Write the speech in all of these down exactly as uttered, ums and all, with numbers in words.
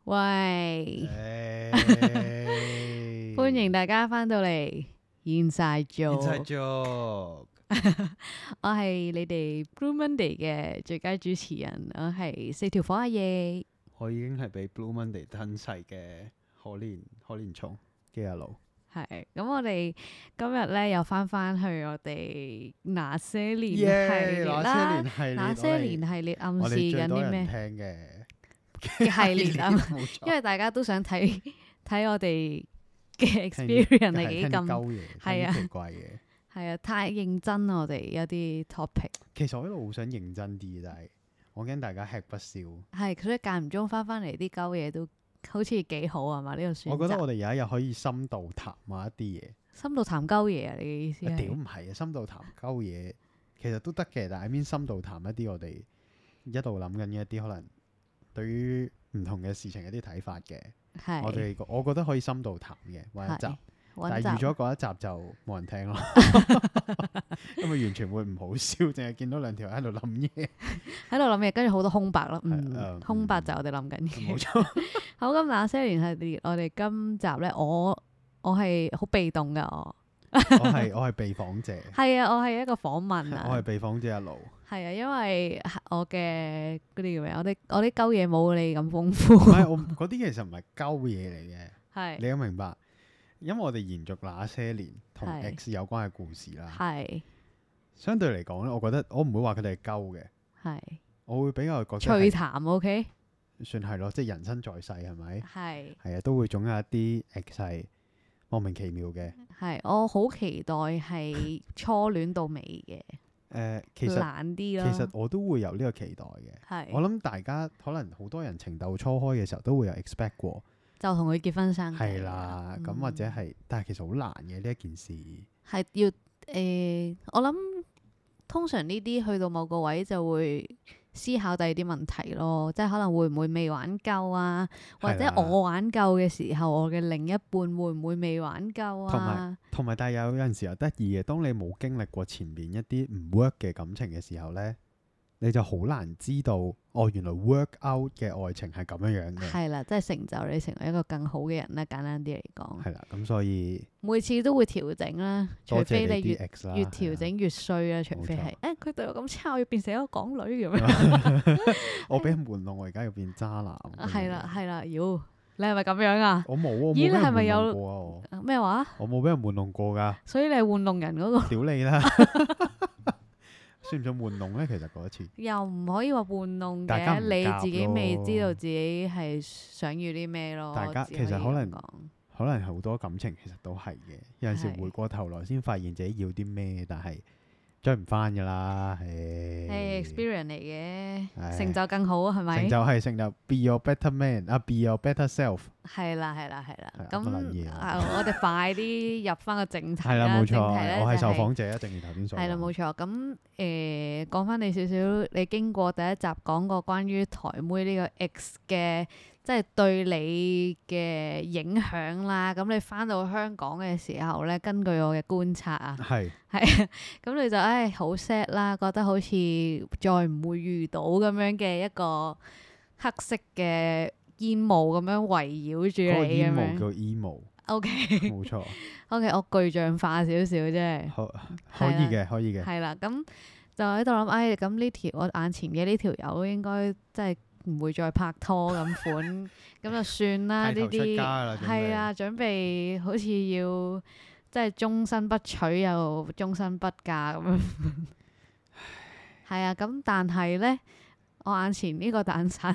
喂， 誒歡迎大家翻到嚟現晒做， 現實做我係你哋 Blue Monday 嘅最佳主持人，我係四條火阿爺。 我已經係俾 Blue Monday 吞噬嘅可憐可憐蟲基阿路。 係咁，我哋今日咧又翻翻去我哋那些年系列啦。 那些年系列， 那些年系列暗示緊啲咩聽嘅嘅系列啊？ 冇錯因為大家都想睇睇我哋嘅 experience 係幾咁鳩嘢， 係啊聽啲奇怪嘢。 係啊，太認真啦我哋有啲 topic。 其實我一路好想認真啲，但係我驚大家吃不消。 係，所以間唔中翻翻嚟啲鳩嘢都好似幾好啊嘛？呢個選擇。 我覺得我哋有一日可以深度談下一啲嘢。 深度談鳩嘢啊？你嘅意思啊屌係？ 唔係啊，深度談鳩嘢其實都得嘅，但係 I mean 深度談一啲我哋一路諗緊嘅一啲可能對於唔同嘅事情一啲睇法嘅。 係我哋我覺得可以深度談嘅揾一集， 係但係揾集預咗嗰一集就冇人聽咯，因為完全會唔好笑，淨係見到兩條喺度諗嘢。 喺度諗嘢，跟住好多空白咯。嗯， 誒空白就係我哋諗緊嘢。 冇錯， 好，咁那些年系列，我哋今集咧，我我係好被動噶，我我係我係被訪者， 係啊，我係一個訪問啊， 我係被訪者一路。 係啊，因為我嘅嗰啲叫咩？我啲我啲鳩嘢冇你咁豐唔富， 係我嗰啲其實唔係鳩嘢嚟嘅， 係你都明白。因為我哋延續那些年同係 X 有關嘅故事啦。 係相對嚟講咧，我覺得我唔會話佢哋係鳩嘅， 係我會比較覺得趣係談，OK， 算係咯，即係人生在世係咪？ 係係啊，都會總有一啲 X 係莫名其妙嘅。 係，我好期待係初戀到尾嘅， 誒，其實難啲其咯， 實我都會有呢個期待嘅。我係諗大家可能好多人情竇初開嘅時候都會有 expect 過， 就同佢結婚生仔係啦，咁嗯或者係，但係其實好難嘅呢一件事。 係要誒，我諗通常呢啲去到某個位就會思考第二啲問題咯，即係可能會唔會未玩夠啊，或者係啦我玩夠嘅時候，我嘅另一半會唔會未玩夠同啊埋？同埋，但係有有陣時又得意嘅，當你冇經歷過前面一啲唔 work 嘅感情嘅時候呢，你就好難知道哦，原來 work out 嘅愛情係咁樣樣嘅。 係啦，即係成就你成為一個更好嘅人啦。簡單啲嚟講， 係啦，咁所以每次都會調整啦，除多非你越謝你啲 X 啦， 越係啊調整越衰啦，除非係冇錯誒佢對我咁差，我要變成一個港女咁樣。 我俾人玩弄，我而家要變渣男。 係啦係啦，妖你係咪咁樣啊？ 我冇啊，我冇咦你係俾人玩咪有弄過啊！我咩話？ 我冇俾人玩弄過㗎， 所以你係玩弄人嗰個， 屌你啦！算唔算玩弄咧？其實嗰一次， 又唔可以話玩弄嘅， 大家唔你自己未夾咯知道自己係想要啲咩咯。 大家只以其實可能咁講可能好多感情其實都係嘅。有陣時係回過頭來先發現自己要啲咩，但係追唔翻㗎啦。 係係 experience 嚟嘅， 唉成就更好啊，係咪成？就係成就 be your better man 啊，be your better self。 係啦係啦係啦係， 咁乜撚嘢啊啊我哋快啲入翻個正題係啦，冇錯， 正題咧我係受就係訪者啊，正如頭先所講。 係啦，冇錯。咁誒講翻你少少，你經過第一集講過關於台妹呢個 X 嘅，即係對你嘅影響啦。咁你翻到香港嘅時候咧，根據我嘅觀察啊， 係係咁你就唉好 sad 啦，覺得好似再唔會遇到咁樣嘅一個黑色嘅煙霧咁樣圍繞住嗰個你咁樣。 煙霧叫 emo， O K 冇錯， O K，我具象化少少啫。 可可以嘅，可以嘅。 係啦，咁就喺度諗，唉，咁呢條我眼前嘅呢條友應該真係唔會再拍拖咁款，咁就算啦。呢剃頭出啲家啦準備係啊，準備好似要即係終身不娶又終身不嫁咁樣。係啊，咁但係咧，我眼前呢個蛋散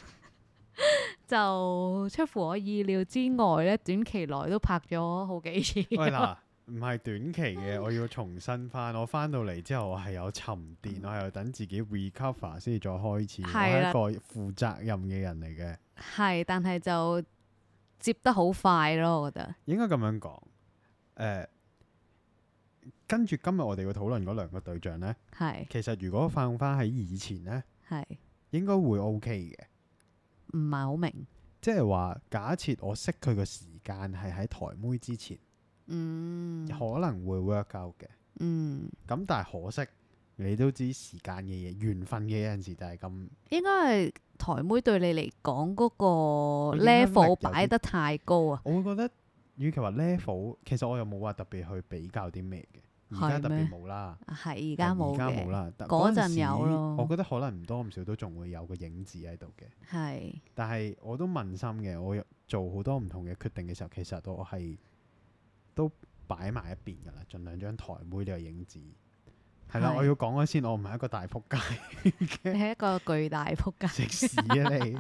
就出乎我意料之外咧，短期內都拍咗好幾次。 喂嗱，唔係短期嘅，我要重新翻。我翻到嚟之後，我係有沉澱，我係有等自己 recover 先至再開始。我係啦係一個負責任嘅人嚟嘅， 係，但係就接得好快咯，我覺得。 應該咁樣講。誒、跟住今日我哋要討論嗰兩個對象呢， 係其實如果放翻喺以前呢， 係應該會 OK 嘅。 唔係好明， 即係話，假設我識佢嘅時間係喺台妹之前， 嗯可能會 work out 嘅。 嗯咁但係可惜， 你都知時間嘅嘢、緣分嘅有陣時就係咁。 應該係台妹對你嚟講嗰個影響力有 level 啲擺得太高啊！ 我會覺得，與其話 level，其實我又冇話特別去比較啲咩嘅。而家特別冇啦， 係而家冇而家冇嘅， 啦。但嗰陣陣時有咯我覺得可能唔多唔少都仲會有個影子喺度嘅。 係但係我都問心嘅，我有做好多唔同嘅決定嘅時候，其實我係都擺埋一邊㗎啦，盡量將台妹呢個影子係啦。 係我要講咗先，我唔係一個大仆街你係一個巨大仆街。 食屎啊你！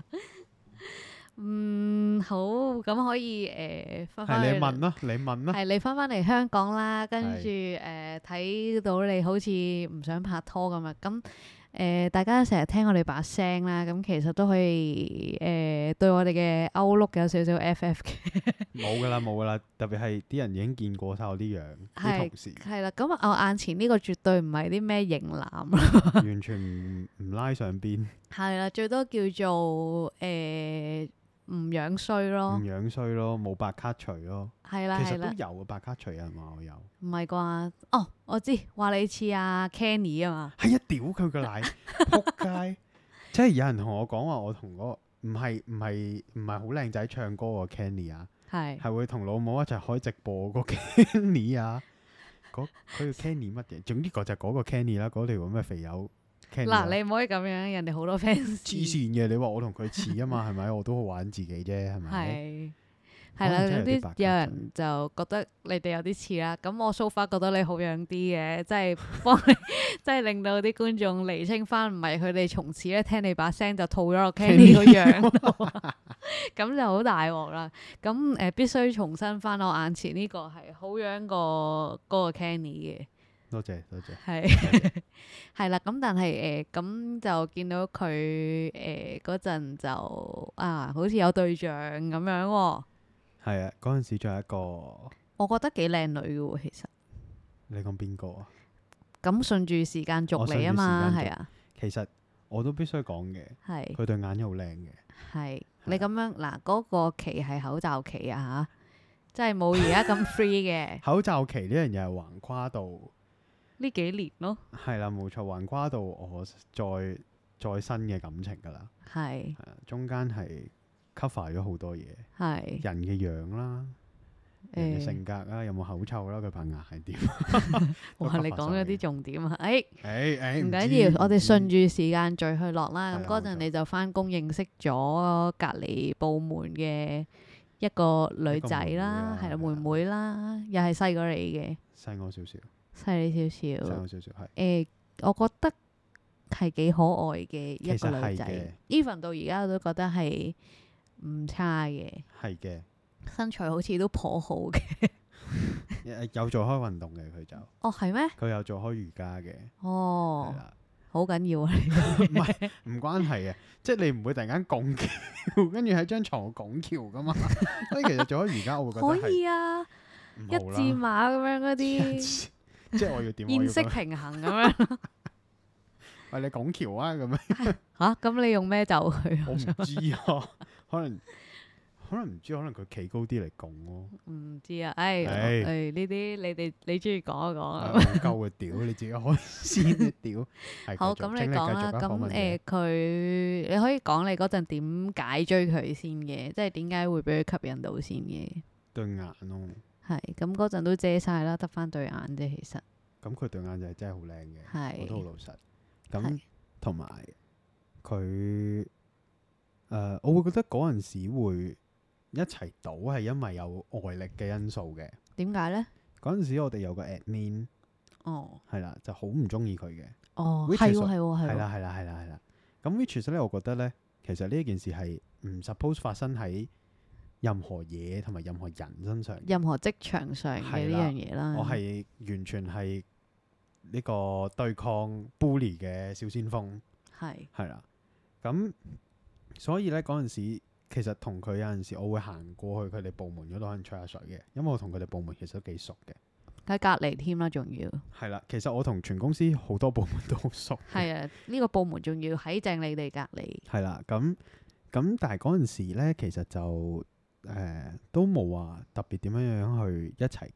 嗯，好，咁可以誒翻返去係你問啦，你問啦。 係你翻返嚟香港啦，跟住係誒睇到你好似唔想拍拖咁啊，咁誒、呃、大家成日聽我哋把聲啦，咁其實都可以誒、呃、對我哋嘅 Outlook 有少少 F F 嘅， 冇㗎啦，冇㗎啦。特別係啲人已經見過晒我啲樣，啲同事係啦，咁我眼前呢個絕對唔係啲咩型男啦， 完全唔唔拉上邊， 係啦，最多叫做誒唔樣衰唔咯， 樣衰咯，冇白卡除咯。 係啦係啦， 其實都有嘅白卡除，有人話我有。 唔係啩？哦，我知，話你似阿 Kenny 啊嘛。 係啊，屌佢個奶，撲街！即係有人同我講話，我同嗰個唔係唔係唔係好靚仔唱歌個 Kenny 啊， 係係會同老母一齊開直播個 Kenny 啊。嗰佢叫 Kenny 乜嘢？總之嗰就嗰個 Kenny 啦，嗰條咁嘅肥友 Kenny 啦。 嗱，你唔可以咁樣，人哋好多 fans。 黐線嘅，你話我同佢似啊嘛，係咪？我都好玩自己啫，係咪？ 係係啦， 可能真係有有啲啲白卡有人就覺得你哋有啲似啦。咁我 so far 覺得你好樣啲嘅，即係幫你，即係令到啲觀眾釐清翻，唔係佢哋從此咧聽你把聲就套咗落 Kenny 個樣度，咁就好大鑊啦。咁誒、呃、必須重申翻我眼前呢個係好樣過嗰個 Kenny 嘅。 多謝多謝。 係係啦，咁但係誒咁就見到佢誒嗰陣就啊，好似有對象咁樣喎。 係啊，嗰陣時仲有一個， 我覺得幾靚女嘅喎，其實。 你講邊個啊？ 咁順住時間續嚟啊嘛， 我順住時間續係啊， 其實我都必須講嘅， 係佢對眼又好靚嘅。 係。你咁樣嗱，嗰個期係口罩期啊吓，即係冇而家咁 free 嘅口罩期呢樣嘢係橫跨到， 呢幾年咯， 係啦冇錯，橫跨到我再再新嘅感情㗎啦。 係係啊，中間係 cover 咗好多嘢， 係人嘅樣啦，人嘅誒。 性格啦，有冇口臭啦，佢棚牙係點？ 哇！你講咗啲重點啊，誒。 誒誒， 唔緊要，我哋順住時間序去落啦。咁係啦冇錯嗰陣你就翻工認識咗隔離部門嘅一個女仔啦，係啦，妹一個妹妹啦妹啦，又係細過你嘅， 細我少少， 細你少細少。 我少少係。 誒，我覺得係幾可愛嘅一其實個女仔係嘅 ，even 到而家我都覺得係唔差嘅， 係嘅， 身材好似都頗好嘅。 誒有做開運動嘅佢就， 哦，係咩？ 佢有做開瑜伽嘅，係哦， 啦， 好緊要啊！ 唔係唔關係嘅，即係你唔會突然間拱橋，跟住喺張床度拱橋噶嘛。所以其實做開瑜伽，我會覺得可係以啊，一唔好字啦。 馬咁樣嗰啲。 即係我要點？我要現式咁樣平衡咁樣喂你拱橋啊咁樣， 吓，咁你用咩就佢？ 我唔知啊，可能可能唔知，可能佢企高啲嚟拱咯。 唔知啊，誒唉誒呢啲你哋你中意講就講啊。 戇鳩嘅屌，你自己開先嘅屌。係好， 繼續咁請繼續你講啦。 啊訪問咁誒者佢你可以講你嗰陣點解追佢先嘅，即係點解會俾佢吸引到先嘅？ 對眼咯， 係咁嗰陣都遮晒啦，得翻對眼啫。其實咁佢對眼就係真係好靚嘅，我都好係老實。咁係同埋佢誒，我會覺得嗰陣時會一齊賭係因為有外力嘅因素嘅。 點解咧？ 嗰陣時我哋有個 admin 哦係啦，就好唔中意佢嘅。 哦， Which 係 is- 喎係喎係喎， 係啦係啦係啦係啦。咁 which is 咧，我覺得咧，其實呢件事係唔 suppose 發生喺任何嘢同埋任何人身上嘅。 任何職場上嘅呢係啦樣嘢啦。 我係完全係呢個對抗 bully 嘅小先鋒， 係係啦。咁所以咧嗰陣時，其實同佢有陣時，我會行過去佢哋部門嗰度可能吹下水嘅，因為我同佢哋部門其實都幾熟嘅。 喺隔離添啦，仲要係啦，其實我同全公司好多部門都好熟嘅。 係啊！呢個部門仲要喺正你哋隔離。 係啦，咁咁，但係嗰陣時咧，其實就誒、呃、都冇話特別點樣樣去一齊嘅，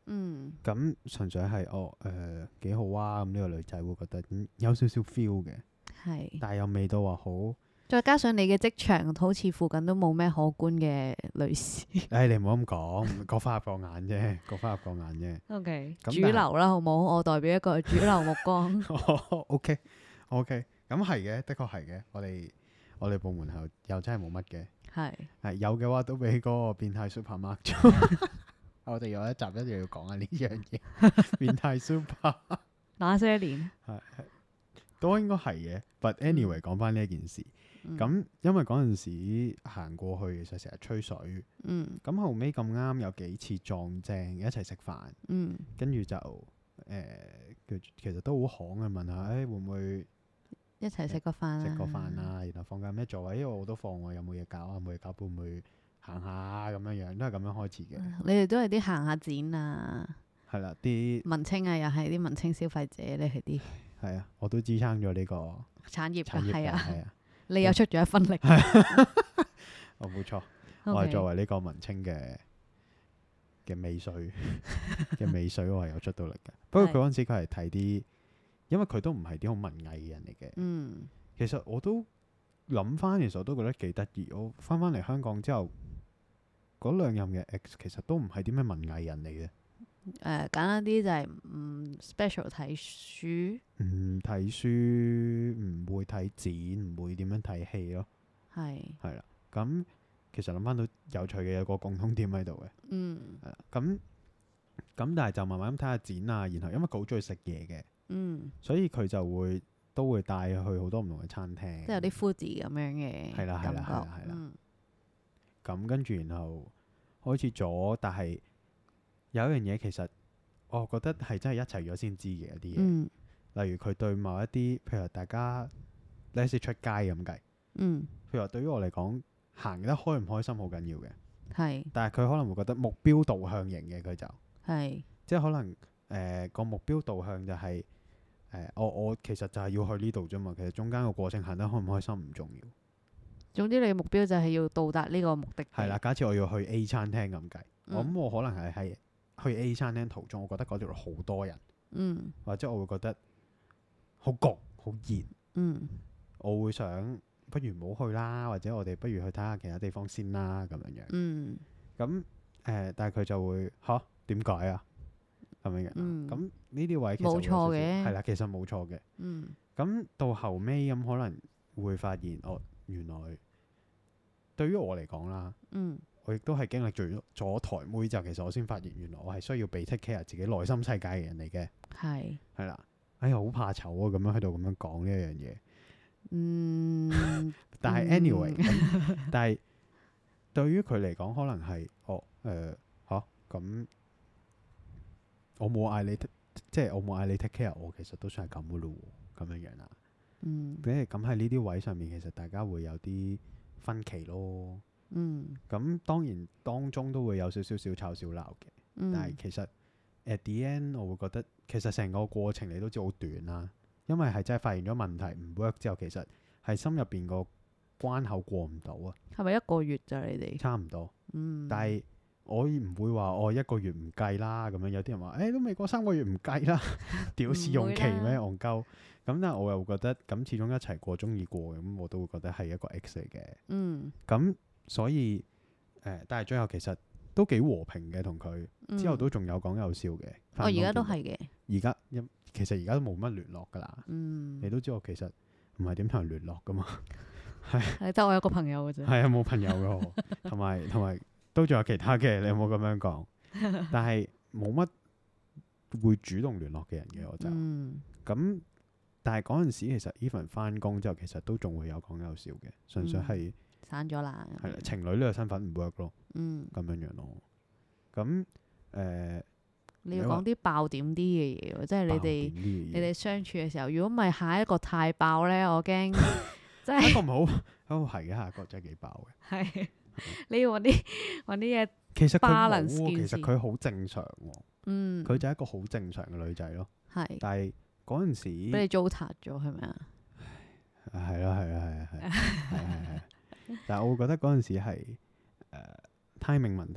嗯咁純粹係哦誒幾好啊，咁呢個女仔會覺得嗯有少少 feel 嘅， 係。 但係又未到話好。 再加上你嘅職場好似附近都冇咩可觀嘅女士。 誒你唔好咁講，各花入各眼啫，各花入各眼啫。 O K， 咁主流啦，好冇？我代表一個主流目光。 O K O K，咁係嘅，的確係嘅。我哋我哋部門後又真係冇乜嘅， 係係有嘅話都俾嗰個變態 super mark 咗。我哋有一集一定要講下呢樣嘢，變態 super 那些年。 係係都應該係嘅。But anyway，講翻呢一件事，咁、 嗯因為嗰陣時行過去，其實成日吹水， 嗯咁後尾咁啱有幾次撞正一齊食飯， 嗯跟住就誒佢、其實都好行嘅問下，誒、會唔會一齊食個飯啊！ 食個飯啊？然後放假咩做啊？因為我都放喎，有冇嘢搞啊？冇嘢搞，會唔會行下啊咁樣樣，都係咁樣開始嘅。 你哋都係啲行下展啊， 係啦，啲文青啊，又係啲文青消費者，你係啲係啊，我都支撐咗呢個產業產業嘅， 㗎，係啊， 係啊， 你又出咗一分力。 我冇錯，我係 OK， 作為呢個文青嘅嘅尾水嘅尾水，我係有出到力嘅。不過佢嗰陣時佢係睇啲，因為佢都唔係啲好文藝嘅人嚟嘅。 嗯其實我都諗翻，其實我都覺得幾得意。我翻返嚟香港之後，嗰兩任嘅 ex 其實都唔係啲咩文藝人嚟嘅。 誒簡單啲就係唔 special 睇書， 唔睇書，唔會睇展，唔會點樣睇戲咯。 係係啦，咁其實諗翻到有趣嘅有個共通點喺度嘅。 嗯係啦，咁咁但係就慢慢咁睇下展啊，然後因為佢好中意食嘢嘅， 嗯， 所以佢就會都會帶去好多唔同嘅餐廳。 即係有啲 foodie 咁樣嘅係啦係啦係感覺啦係啦嗯咁跟住然後開始咗，但係有一樣嘢其實我覺得係真係一齊咗先知嘅一啲嘢， 嗯例如佢對某一啲，譬如話大家呢次出街咁計， 嗯譬如話對於我嚟講，行得開唔開心好緊要嘅， 係但係佢可能會覺得目標導向型嘅佢就。 係即係可能誒個、目標導向就係、誒、我我其實就係要去呢度啫嘛，其實中間個過程行得開唔開心唔重要。 總之你嘅目標就係要到達呢個目的地。 係啦，假設我要去 A 餐廳咁計， 嗯我諗我可能係喺去 A 餐廳途中，我覺得嗰條路好多人， 嗯或者我會覺得好焗、好熱， 嗯我會想不如唔好去啦，或者我哋不如去睇下其他地方先啦咁樣樣。 嗯咁誒、但係佢就會吓點解啊咁樣樣。 嗯咁呢啲位其實冇會有少少錯嘅係啦，其實冇錯嘅。 嗯咁到後尾咁可能會發現，哦，原來對於我嚟講啦， 嗯我亦都係經歷咗咗台妹之後，其實我先發現原來我係需要被 take care 自己內心世界嘅人嚟嘅， 係係啦。哎呀，好怕醜啊！咁樣喺度咁樣講呢一樣嘢， 嗯但係 anyway，咁但係對於佢嚟講，可能係哦誒嚇咁，我冇嗌你 t- 即係我冇嗌你 take care 我，其實都算係咁噶咯喎，咁樣樣啦。 嗯即係咁喺呢啲位上面，其實大家會有啲分歧咯。 嗯咁當然當中都會有少少小吵小鬧嘅， 嗯但係其實 at the end 我會覺得其實成個過程你都知好短啦，因為係真係發現咗問題唔 work 之後，其實係心入邊個關口過唔到啊， 係咪一個月咋你哋？ 差唔多。 嗯， 但係我唔會話我一個月唔計啦，咁樣有啲人話誒、欸都未過三個月唔計啦，屌試用期咩戇鳩？咁但係我又覺得咁始終一齊過中意過，咁我都會覺得係一個 X 嚟嘅。 嗯咁所以誒、呃但係最後其實都幾和平嘅，同佢之後都仲有講有笑嘅。 我而家都係。 係嘅。 而家因其實而家都冇乜聯絡㗎啦。 嗯你都知我其實唔係點同人聯絡㗎嘛。 係得我有個朋友嘅啫。 係啊，冇朋友㗎我，同埋同埋都仲有其他嘅，你有冇咁樣講？但係冇乜會主動聯絡嘅人嘅我就咁。 嗯但係嗰陣時其實 even 翻工之後，其實都仲會有講有笑嘅，純粹係散咗啦。 係啦，情侶呢個身份唔 work 咯， 嗯， 咁樣樣咯。咁誒， 你要你話講啲爆點啲嘅嘢喎，即係你爆哋點啲嘅嘢你哋相處嘅時候，如果唔係下一個太爆咧，我驚即係下一個唔好，哦係嘅，下一個真係幾爆嘅。 係你要揾啲揾啲嘢。 其實佢冇 balance 喎， 件事其實佢好正常喎， 嗯， 佢就係一個好正常嘅女仔咯。 係但係嗰陣時俾你糟蹋咗係咪啊？ 係咯係咯係啊係係係係，但係我會覺得嗰陣時係誒 timing 問題咯。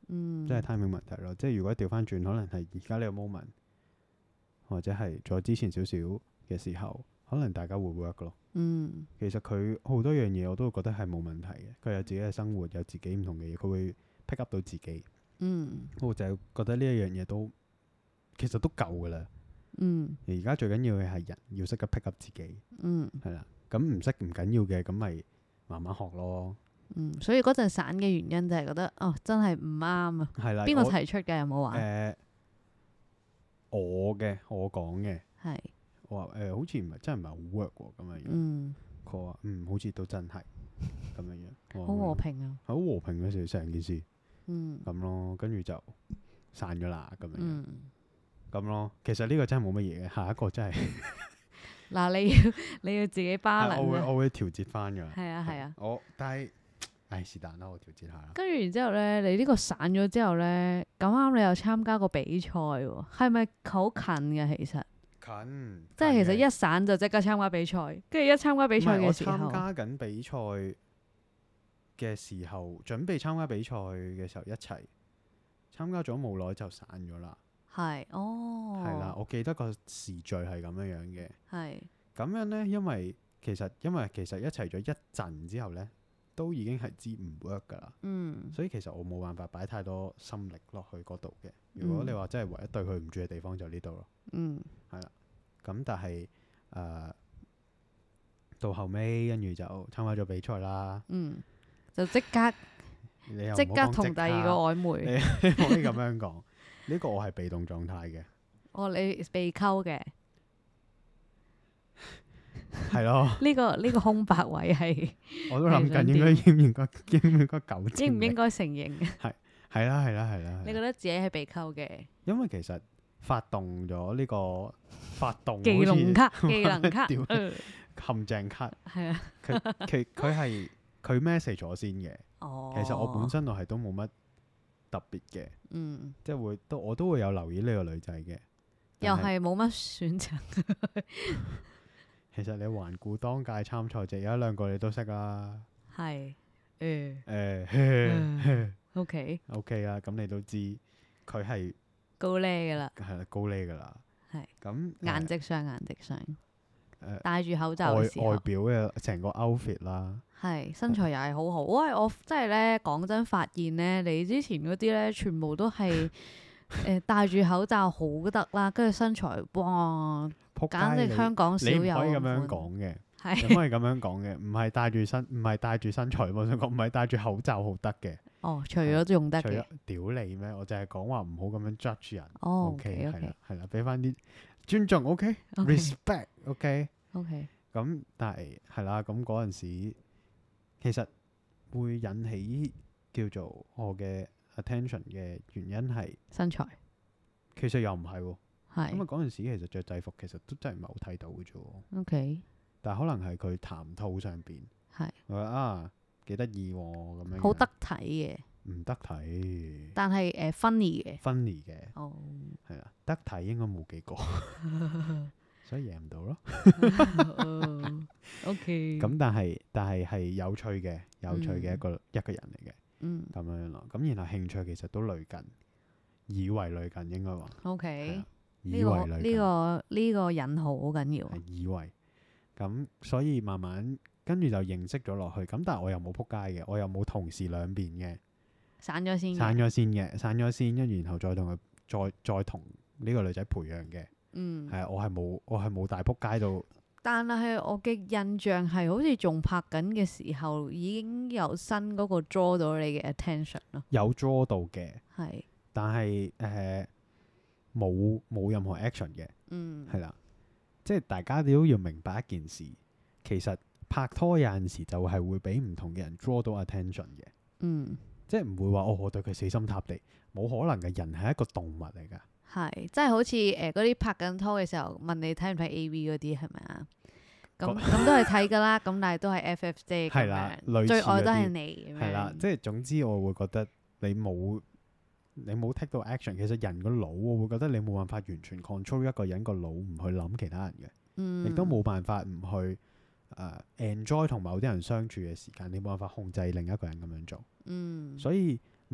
嗯， 即係 timing 問題咯。即係如果調翻轉，可能係而家呢個 moment，或者係再之前少少嘅時候，可能大家會 work 咯。 嗯其實佢好多樣嘢我都會覺得係冇問題嘅。佢有自己嘅生活，有自己唔同嘅嘢，佢會 pick up 到自己。 嗯我就係覺得呢一樣嘢都其實都夠噶啦。 嗯而家最緊要嘅係人要識得 pick up 自己， 嗯係啦。咁唔識唔緊要嘅，咁咪慢慢學咯。 嗯，所以嗰陣散嘅原因就係覺得哦，真係唔啱啊！ 係啦， 邊個我提出嘅？有冇話？ 誒我嘅我講嘅， 係我話誒好似唔係真係唔係好 work 喎咁樣樣。 嗯， 佢話嗯好似都真係咁樣樣。我話好和平啊。 好和平嘅時成件事嗯咁咯，跟住就散咗啦咁樣樣嗯， 咁咯。其實呢個真係冇乜嘢嘅，下一個真係嗱，你要你要自己巴係我會能啊。 我會調節翻㗎。 係啊係啊。 我但係唉是但啦，我調節下啦。 跟住然之後咧，你呢個散咗之後咧，咁啱你又參加個比賽喎，係咪好近嘅？其實近即係其實近嘅一散就即刻參加比賽，跟住一參加比賽唔係我嘅時候參，加緊比賽嘅時候，準備參加比賽嘅時候一齊參加咗冇耐就散咗啦。 係哦， 係啦，我記得個時序係咁樣樣嘅。 係咁樣呢，因為其實因為其實一齊咗一陣之後呢，都已經係知唔 work 㗎啦。 嗯所以其實我冇辦法擺太多心力落去嗰度嘅。如果你話真係唯一對佢唔住嘅地方就呢度咯。 嗯咁但係誒、呃到後尾跟住就參加咗比賽啦。 嗯，就即刻你又唔好即刻講同第二個曖昧。 你唔可以咁樣講。呢個我係被動狀態嘅， 哦，你被溝嘅係咯。 呢個呢個空白位係我都諗緊係想應該應唔應該應唔應該糾正你應唔應該承認？ 係啦係啦係啦。 你覺得自己係被溝嘅？ 因為其實發動咗呢個發動技好似能卡，技能卡， 屌呃陷阱卡， 係啊。 佢佢佢係佢 message 咗先嘅。 哦， 其實我本身我係都冇乜特別嘅， 嗯， 即係會都我都會有留意呢個女仔嘅。 又但係冇乜選擇。 其實你環顧當屆參賽者有一兩個你都識啦。 係誒誒 ，OK， OK 啦，咁你都知佢係高呢㗎啦， 係啦高呢㗎啦。 係咁顏值上顏值上， 誒戴住口外罩嘅時候外，表嘅成個 outfit 啦。 係身材又係好好。喂，我真係咧講真發現咧，你之前嗰啲咧全部都係誒戴住口罩好得啦，跟住身材哇， 仆簡直街你香港少你唔有。 可以咁樣，講嘅， 係你唔可以咁樣講嘅，唔係戴住身，唔係戴住身材，我想講唔係戴住口罩好得嘅。 哦，除咗用得除咗嘅， 屌你咩？我就係講話唔好咁樣 judge 人。 哦 OK 係 ，OK 啦係啦，俾翻啲尊重。OK，respect。OK。 OK， 咁但係係啦，咁嗰陣時其實會引起叫做我嘅 attention 嘅原因係， 身材其實又唔係喎。咁啊係嗰陣時其實着制服其實都真係唔係好睇到嘅啫喎。 OK， 但係可能係佢談吐上邊， 係我話啊幾得意喎咁樣樣， 好得體嘅， 唔得睇但係誒 funny 嘅。 funny 嘅哦係啦，得睇應該冇幾個，所以贏唔到咯。 哦，OK， 咁但係但係係有趣嘅，有趣嘅一個、一個人嚟嘅嗯咁樣咯。咁然後興趣其實都類近，以為類近應該話係 ，OK， 啊呢以為個呢類近個呢個引號好緊要啊。 係以為咁，所以慢慢跟住就認識咗落去。咁但係我又冇撲街嘅，我又冇同時兩邊嘅。 散咗先嘅， 散咗先嘅，散咗先，跟住然後再同佢再再同呢個女仔培養嘅， 嗯係啊，我係冇我係冇大撲街到， 但係我嘅印象係好似仲拍緊嘅時候已經有新嗰個 draw 到你嘅 attention 咯， 有 draw 到嘅， 係， 但係誒冇冇任何 action 嘅， 嗯， 係啦，即係大家都要明白一件事，其實拍拖有陣時就係會俾唔同嘅人 draw 到 attention 嘅， 嗯， 即係唔會話哦我對佢死心塌地，冇可能嘅，人係一個動物嚟㗎。 係，即係好似誒嗰啲拍緊拖嘅時候問你睇唔睇 A V 嗰啲係咪啊？咁咁都係睇㗎啦，咁但係都係 F F 啫， 係啦咁樣類似最愛都係嗰啲你咁樣， 係啦，即係總之我會覺得你冇你冇 take 到 action，其實人個腦我會覺得你冇辦法完全 control 一個人個腦唔去諗其他人嘅， 嗯， 亦都冇辦法唔去誒、呃 enjoy 同某啲人相處嘅時間，你冇辦法控制另一個人咁樣做， 嗯， 所以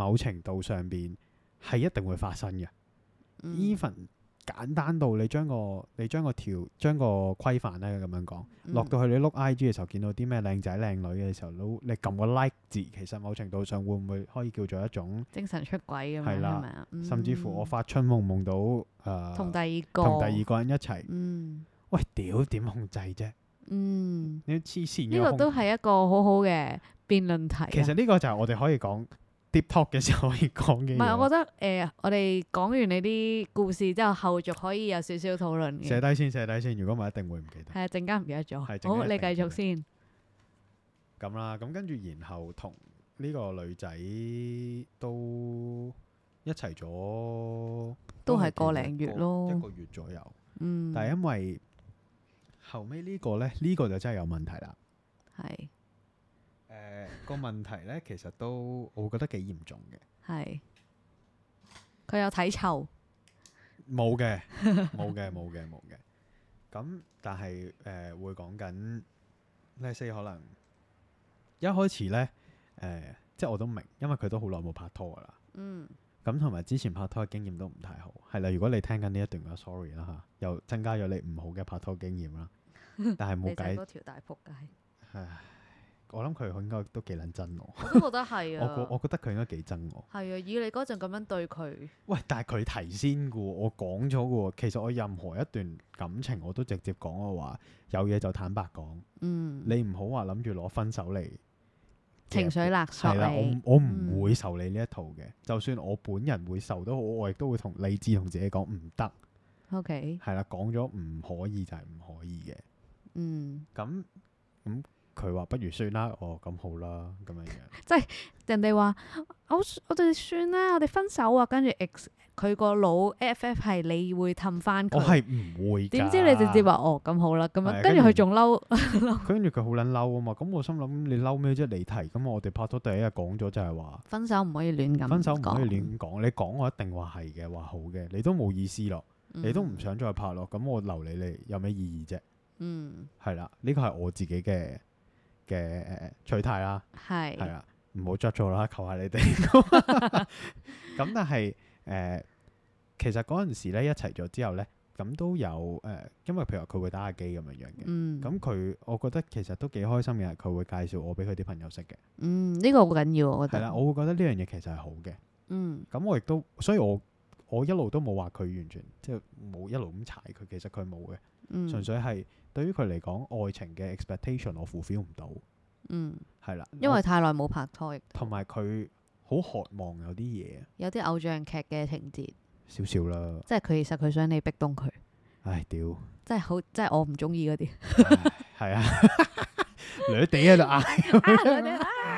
某程度上邊係一定會發生嘅。 嗯 even 簡單到你將個你將個條將個規範咧咁樣講， 嗯落到去你碌 I G 嘅時候，見到啲咩靚仔靚女嘅時候，都你撳個 like 字，其實某程度上會唔會可以叫做一種， 精神出軌咁樣係啦係咪啊？嗯甚至乎我發春夢夢到誒、呃同第二個同第二個人一齊， 嗯喂屌點控制啫？ 嗯， 你黐線呢個嘅控都係一個好好嘅辯論題啊。 其實呢個就係我哋可以講 deep talk 嘅時候可以講嘅嘢。 唔係，我覺得誒、呃我哋講完你啲故事之後，後續可以有少少討論嘅。 寫低先，寫低先。如果唔係，一定會唔記得。 係啊，陣間唔記得咗。 係陣間好，你繼一定記得續先。 咁啦，咁跟住然後同呢個女仔都一齊咗， 都係幾耐個零月咯一個月左右。 嗯， 但係因為後尾呢個呢，呢、呢個就真係有問題啦。 係誒、呃、個問題呢，其實都我覺得幾嚴重嘅。 係。佢有體臭。 冇嘅，冇嘅，冇嘅，冇嘅。咁但係誒、呃、會講緊呢些可能一開始呢，誒、呃，即係我都明，因為佢都好耐冇拍拖噶啦。 嗯咁同埋之前拍拖嘅經驗都唔太好，係啦。如果你聽緊呢一段嘅 sorry 啦嚇，又增加咗你唔好嘅拍拖經驗啦。但係冇你就係計， 嗰條大仆街。 唉，我諗佢應該都幾撚憎我。 我都覺得係我覺啊。 我覺得佢應該幾憎我。 係啊，以你嗰陣咁樣對佢， 喂，但係佢提先嘅喎，我講咗嘅喎。其實我任何一段感情我都直接講我話，有嘢就坦白講。 嗯， 你唔好話諗住攞分手嚟情緒勒索係啦， 你。 我我唔嗯會受你呢一套嘅。就算我本人會受都好，我亦都會同理智同自己講唔得。 OK， 係啦，講咗唔可以就係唔可以嘅。 嗯， 咁咁佢話不如算啦，哦咁好啦，咁樣樣。 人哋話我我哋算啦，我哋分手啊，跟住 X 佢個腦 F F 係你會氹翻佢。 我係唔會㗎。 點知你直接話哦咁好啦，咁係啊樣跟住佢仲嬲。 跟住佢好撚嬲啊嘛。咁我心諗你嬲咩啫？你提咁我哋拍拖第一日講咗就係話分手唔可以亂咁分手唔可以講亂講。你講我一定話係嘅，話好嘅，你都冇意思咯，你都唔想再拍咯。咁我留你嚟有咩意義啫？ 嗯， 係啦，呢個係我自己嘅嘅誒取態啦，係係啦，唔好 judge 我啦，求下你哋。咁但係誒、呃，其實嗰陣時咧一齊咗之後咧，咁都有誒、呃，因為譬如話佢會打下機咁樣樣嘅， 嗯咁佢、我覺得其實都幾開心嘅，係佢會介紹我俾佢啲朋友識嘅， 嗯呢個好緊要，我覺得。 係啦，我會覺得呢樣嘢其實係好嘅。 嗯咁我亦都，所以我我一路都冇話佢完全即係冇一路咁踩佢，其實佢冇嘅， 嗯純粹係對於佢嚟講，愛情嘅 expectation 我 fulfill 唔到， 嗯， 係啦， 因為太耐冇拍拖，亦都同埋佢好渴望有啲嘢， 有啲偶像劇嘅情節， 少少啦。 即係佢其實佢想你逼動佢， 唉，屌， 即係好，即係我唔中意嗰啲。 係啊，女地喺度嗌，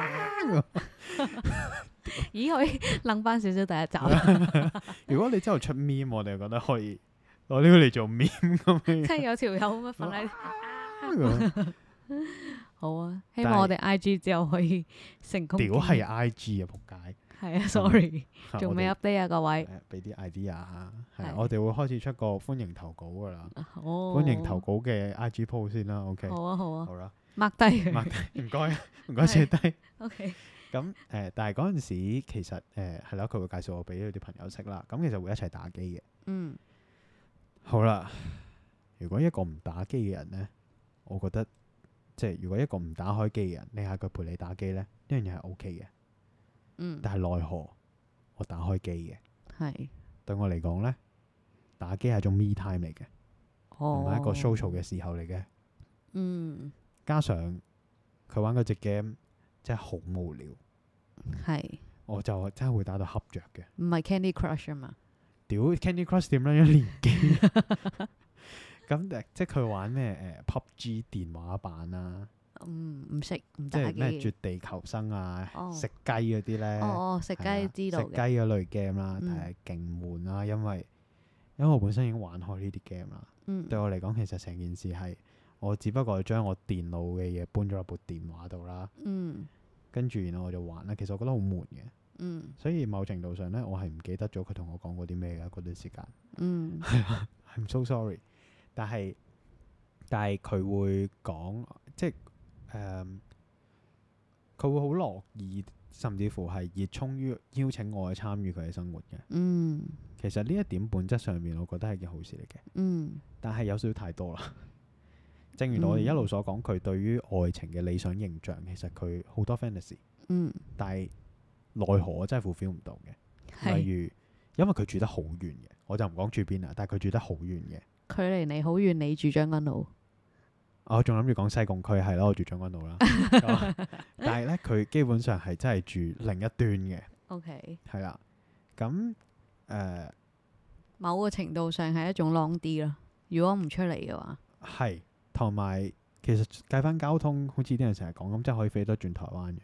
咦，可以諗翻少少第一集， 如果你之後出 meme，我哋覺得可以攞呢個嚟做 meme 咁樣。 即係有條友咁樣瞓喺。好啊，希但係望我哋 I G 之後可以成功。 屌係 I G 啊，仆街！ 係啊，sorry，仲未我哋 update 啊，各位。 誒俾啲 idea 啊，係啊係我哋會開始出個歡迎投稿噶啦， 哦， 歡迎投稿嘅 I G post 先啦，OK， 好啊，好啊好啦， ，mark 低佢。 mark 低唔該，唔該寫低。 OK， 咁誒，但係嗰陣時其實誒係啦，佢會介紹我俾佢啲朋友識啦，咁其實會一齊打機嘅。 嗯好啦，如果一個唔打機嘅人呢，我覺得即係如果一個唔打開機嘅人，你嗌佢陪你打機呢，呢樣嘢係 O K 嘅。 嗯， 但係奈何我打開機嘅， 係， 對我嚟講呢，打機係一種 me time 嚟嘅，唔哦， 係一個 social 嘅時候嚟嘅。 嗯， 加上佢玩嗰隻 game 真係好無聊， 係， 我就真係會打到瞌着嘅。 唔係 Candy Crush 啊嘛？ 屌 Candy Crush 點樣一連機？咁誒，即係佢玩咩誒 P U B G 電話版啊， 嗯，唔識唔即打機係咩絕地求生啊、 哦食雞嗰啲咧。 哦哦，食係啊雞知道食雞嘅。 嗰類 game 啦， 嗯但係勁悶啦，因為因為我本身已經玩開呢啲 game 啦。 嗯， 對我嚟講，其實成件事係我只不過係將我電腦嘅嘢搬咗落部電話度啦， 嗯跟住然後我就玩啦。其實我覺得好悶嘅， 嗯所以某程度上咧，我係唔記得咗佢同我講過啲咩嘅嗰段時間。 嗯 I'm so sorry，但係但係佢會講，即係誒，佢、會好樂意甚至乎係熱衷於邀請我去參與佢嘅生活嘅。 嗯其實呢一點本質上面，我覺得係件好事嚟嘅。 嗯但係有少少太多啦。正如我哋一路所講，佢對於愛情嘅理想形象，其實佢好多 fantasy， 嗯， 但係奈何我真係 fulfill 唔到嘅。例係如，因為佢住得好遠嘅，我就唔講住邊啦，但係佢住得好遠嘅。 距離你好遠，你住將軍澳。 我仲諗住講西貢區係咯，我住將軍澳啦。咁但係咧，佢基本上係真係住另一端嘅， OK， 係啦。咁誒、呃某個程度上係一種 long 啲咯。如果唔出嚟嘅話， 係同埋其實計翻交通，好似啲人成日講咁，真係可以飛得轉台灣嘅。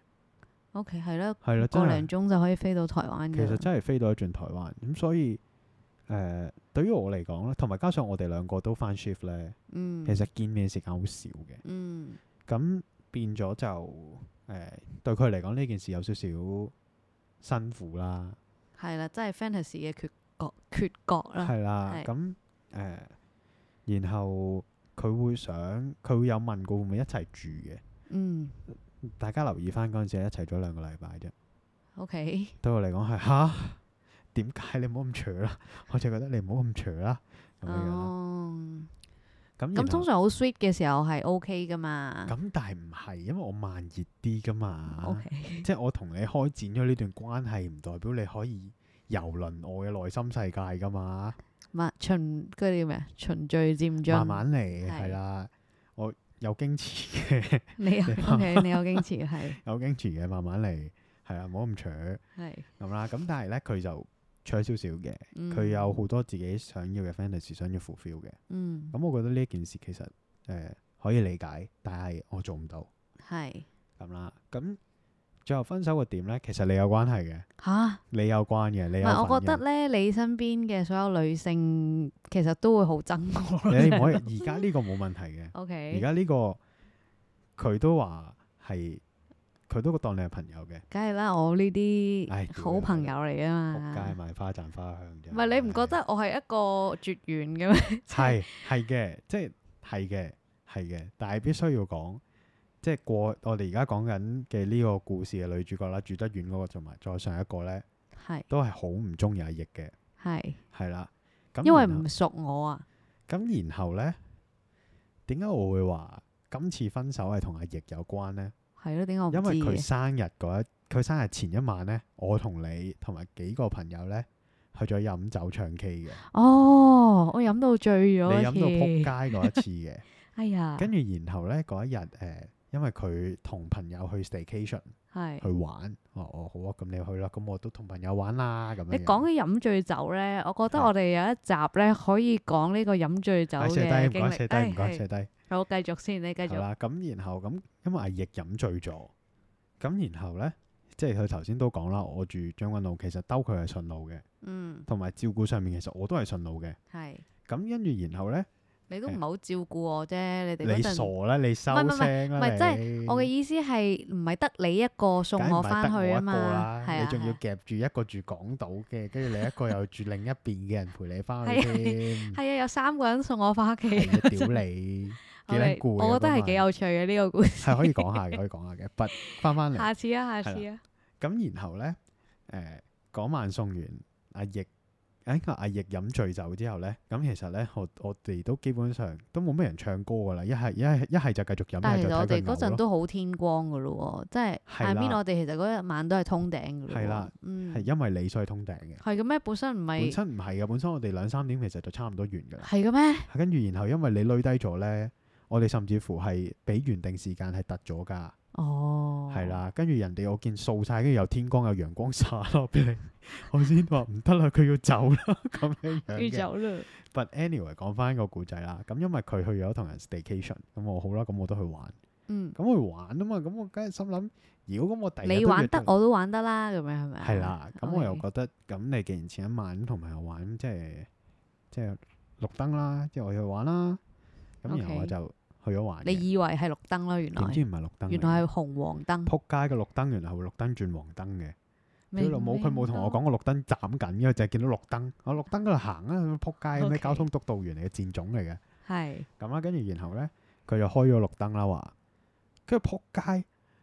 OK 係啦， 係啦，真係個零鐘就可以飛到台灣嘅。 其實真係飛到一轉台灣。咁所以誒、呃，對於我嚟講咧，同埋加上我哋兩個都翻 shift 咧， 嗯， 其實見面時間好少嘅。 嗯咁變咗就誒、呃，對佢嚟講呢件事有少少辛苦啦。 係啦，真係 fantasy 嘅缺角缺角啦。 係啦， 係咁誒、呃，然後佢會想，佢會有問過會唔會一齊住嘅。 嗯大家留意翻嗰陣時係一齊咗兩個禮拜啫。 ，OK， 對我嚟講係吓，點解你唔好咁長啦？我就覺得你唔好咁長啦，咁樣樣啦。 哦， 咁然後咁通常好 sweet 嘅時候係 OK 噶嘛。 咁但係唔係，因為我慢熱啲噶嘛。 OK， 即係我同你開展咗呢段關係，唔代表你可以遊輪我嘅內心世界噶嘛。 慢循嗰啲叫咩啊？循序漸進。 慢慢嚟係係啦，我有矜持嘅， 你有你 OK，你有矜持係有矜持嘅，慢慢嚟係啦，唔好咁長係。 咁啦。咁但係咧，佢就長少少嘅， 嗯佢有好多自己想要嘅 fantasy 想要 fulfill 嘅。 嗯咁我覺得呢一件事其實誒、呃、可以理解，但係我做唔到係咁啦。咁最後分手個點咧，其實你有關係嘅， 吓。 你有關嘅，你唔有係，我覺得份咧，你身邊嘅所有女性其實都會好憎我。 嘅，你唔可以。而家呢個冇問題嘅， OK， 而家呢個佢都話係，佢都當你係朋友嘅。 梗係啦，我呢唉啲好朋友嚟啊仆街嘛。 賣花讚花香啫。 唔係你唔覺得我係一個絕緣嘅咩？ 係係嘅，即係係嘅係嘅，但係必須要講，即係過我哋而家講緊嘅呢個故事嘅女主角啦，住得遠嗰個同埋再上一個咧， 係都係好唔中意阿奕嘅， 係， 係啦。咁因為然後唔熟我啊。 咁然後咧，點解我會話今次分手係同阿奕有關咧？ 係咯，點解我唔因為佢知嘅？ 生日嗰一，佢生日前一晚咧，我同你同埋幾個朋友咧去咗飲酒唱 K 嘅， 哦，我飲到醉咗你飲到撲一次。 街嗰一次嘅。 哎呀， 跟住然後咧嗰一日誒、呃，因為佢同朋友去 staycation 係去玩，哦哦好啊，咁你去啦，咁我都同朋友玩啦，咁樣樣。 你講起飲醉酒咧，我覺得係我哋有一集咧可以講呢個飲醉酒唉，寫嘅經低唔該，寫歷。 低唔該， 哎寫低。 好，繼續先，你繼續。 係啦，咁然後咁，因為阿奕飲醉咗，咁然後咧，即係佢頭先都講啦，我住將軍澳，其實兜佢係順路嘅， 嗯， 同埋照顧上面其實我都係順路嘅。 係。 咁跟住然後咧， 你都唔係好照顧我啫，你哋你嗰陣傻啦，你收唔係唔係聲啦， 唔係即係你我嘅意思係唔係得你一個送梗係唔係我翻去得我一個啊嘛？ 啦， 係啊， 你仲要係夾住一個住港島嘅，跟住你一個又住另一邊嘅人陪你翻去係啊添。 係啊，有三個人送我翻屋企。 係啊，屌你，幾撚攰啊我覺得係幾嗰晚有趣嘅呢個故事。 係可以講下嘅，可以講下嘅。不翻翻嚟， 下次啊，下次啊， 咁然後咧，誒嗰晚送完阿奕，誒個阿奕飲醉酒之後咧，咁其實咧，我我哋都基本上都冇咩人唱歌噶啦，一係一係一係就繼續飲， 但係其實我一係就睇佢哋嗰陣嘔咯。 都好天光噶咯喎，即係係下面啦我哋其實嗰一晚都係通頂噶咯喎。 係啦， 嗯， 係因為你所以通頂嘅， 係嘅咩？本身唔本係身唔係嘅，本身我哋兩三點其實就差唔多完㗎啦。 係嘅咩？ 跟住然後因為你累低咗咧，我哋甚至乎係比原定時間係突咗㗎。 哦， 係啦，跟住人哋我見掃晒，跟住有天光有陽光灑落俾你，我先話唔得啦，佢要走啦咁樣樣嘅。 要走啦。 But anyway，講翻個故仔啦，咁因為佢去咗同人 staycation，咁我好啦，咁我都去玩， 嗯， 咁去玩啊嘛，咁我梗係心諗，如果咁我第日你玩得都約咗我都玩得啦，咁樣係咪啊？ 係啦，咁我又 OK 覺得，咁你既然前一晚同朋友玩，即係即係綠燈啦，即係我要去玩啦，咁然後 OK 我就去咗玩嘅。 你以為係綠燈咯，原來點知唔係綠燈嚟嘅？ 原來係紅黃燈。 撲街嘅綠燈，原來係會綠燈轉黃燈嘅。佢老母， 明佢冇同我講個綠燈斬緊嘅，就係見到綠燈，我綠燈嗰度行啊，撲街咩 OK 交通督導員嚟嘅賤種嚟嘅。 係咁啦，跟住然後咧，佢就開咗綠燈啦，話跟住撲街，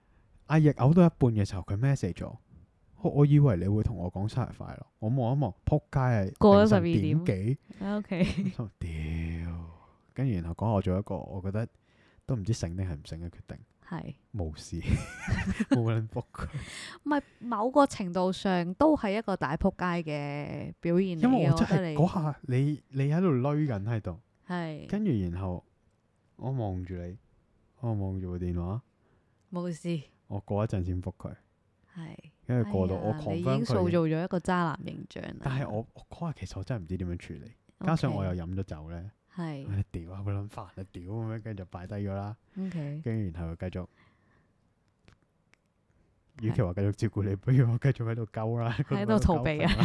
阿奕嘔到一半嘅時候，佢 message 咗我，我以為你會同我講生日快樂，我望一望，撲街係過咗凌晨十二點點幾， O K， 心屌，跟住然後講我做一個我覺得都唔知醒定係唔醒嘅決定， 係冇事，冇人覆佢， 唔係某個程度上都係一個大撲街嘅表現嚟因為嘅， 我真係覺得你嗰下你你喺度攣緊喺度， 係跟住然後我望住你，我望住部電話， 冇事， 我過一陣先覆佢， 係跟住過到我哎呀你已 confirm 經塑造佢， 咗一個渣男形象啦。 但係我我嗰下其實我真係唔知點樣處理，加上我又飲咗酒咧。 係唉屌啊！好撚煩啊！屌咁樣，跟住就擺低咗啦。 OK， 跟住然後又繼續，與係其話繼續照顧你，不如我繼續喺度鳩啦， 喺度逃避啊。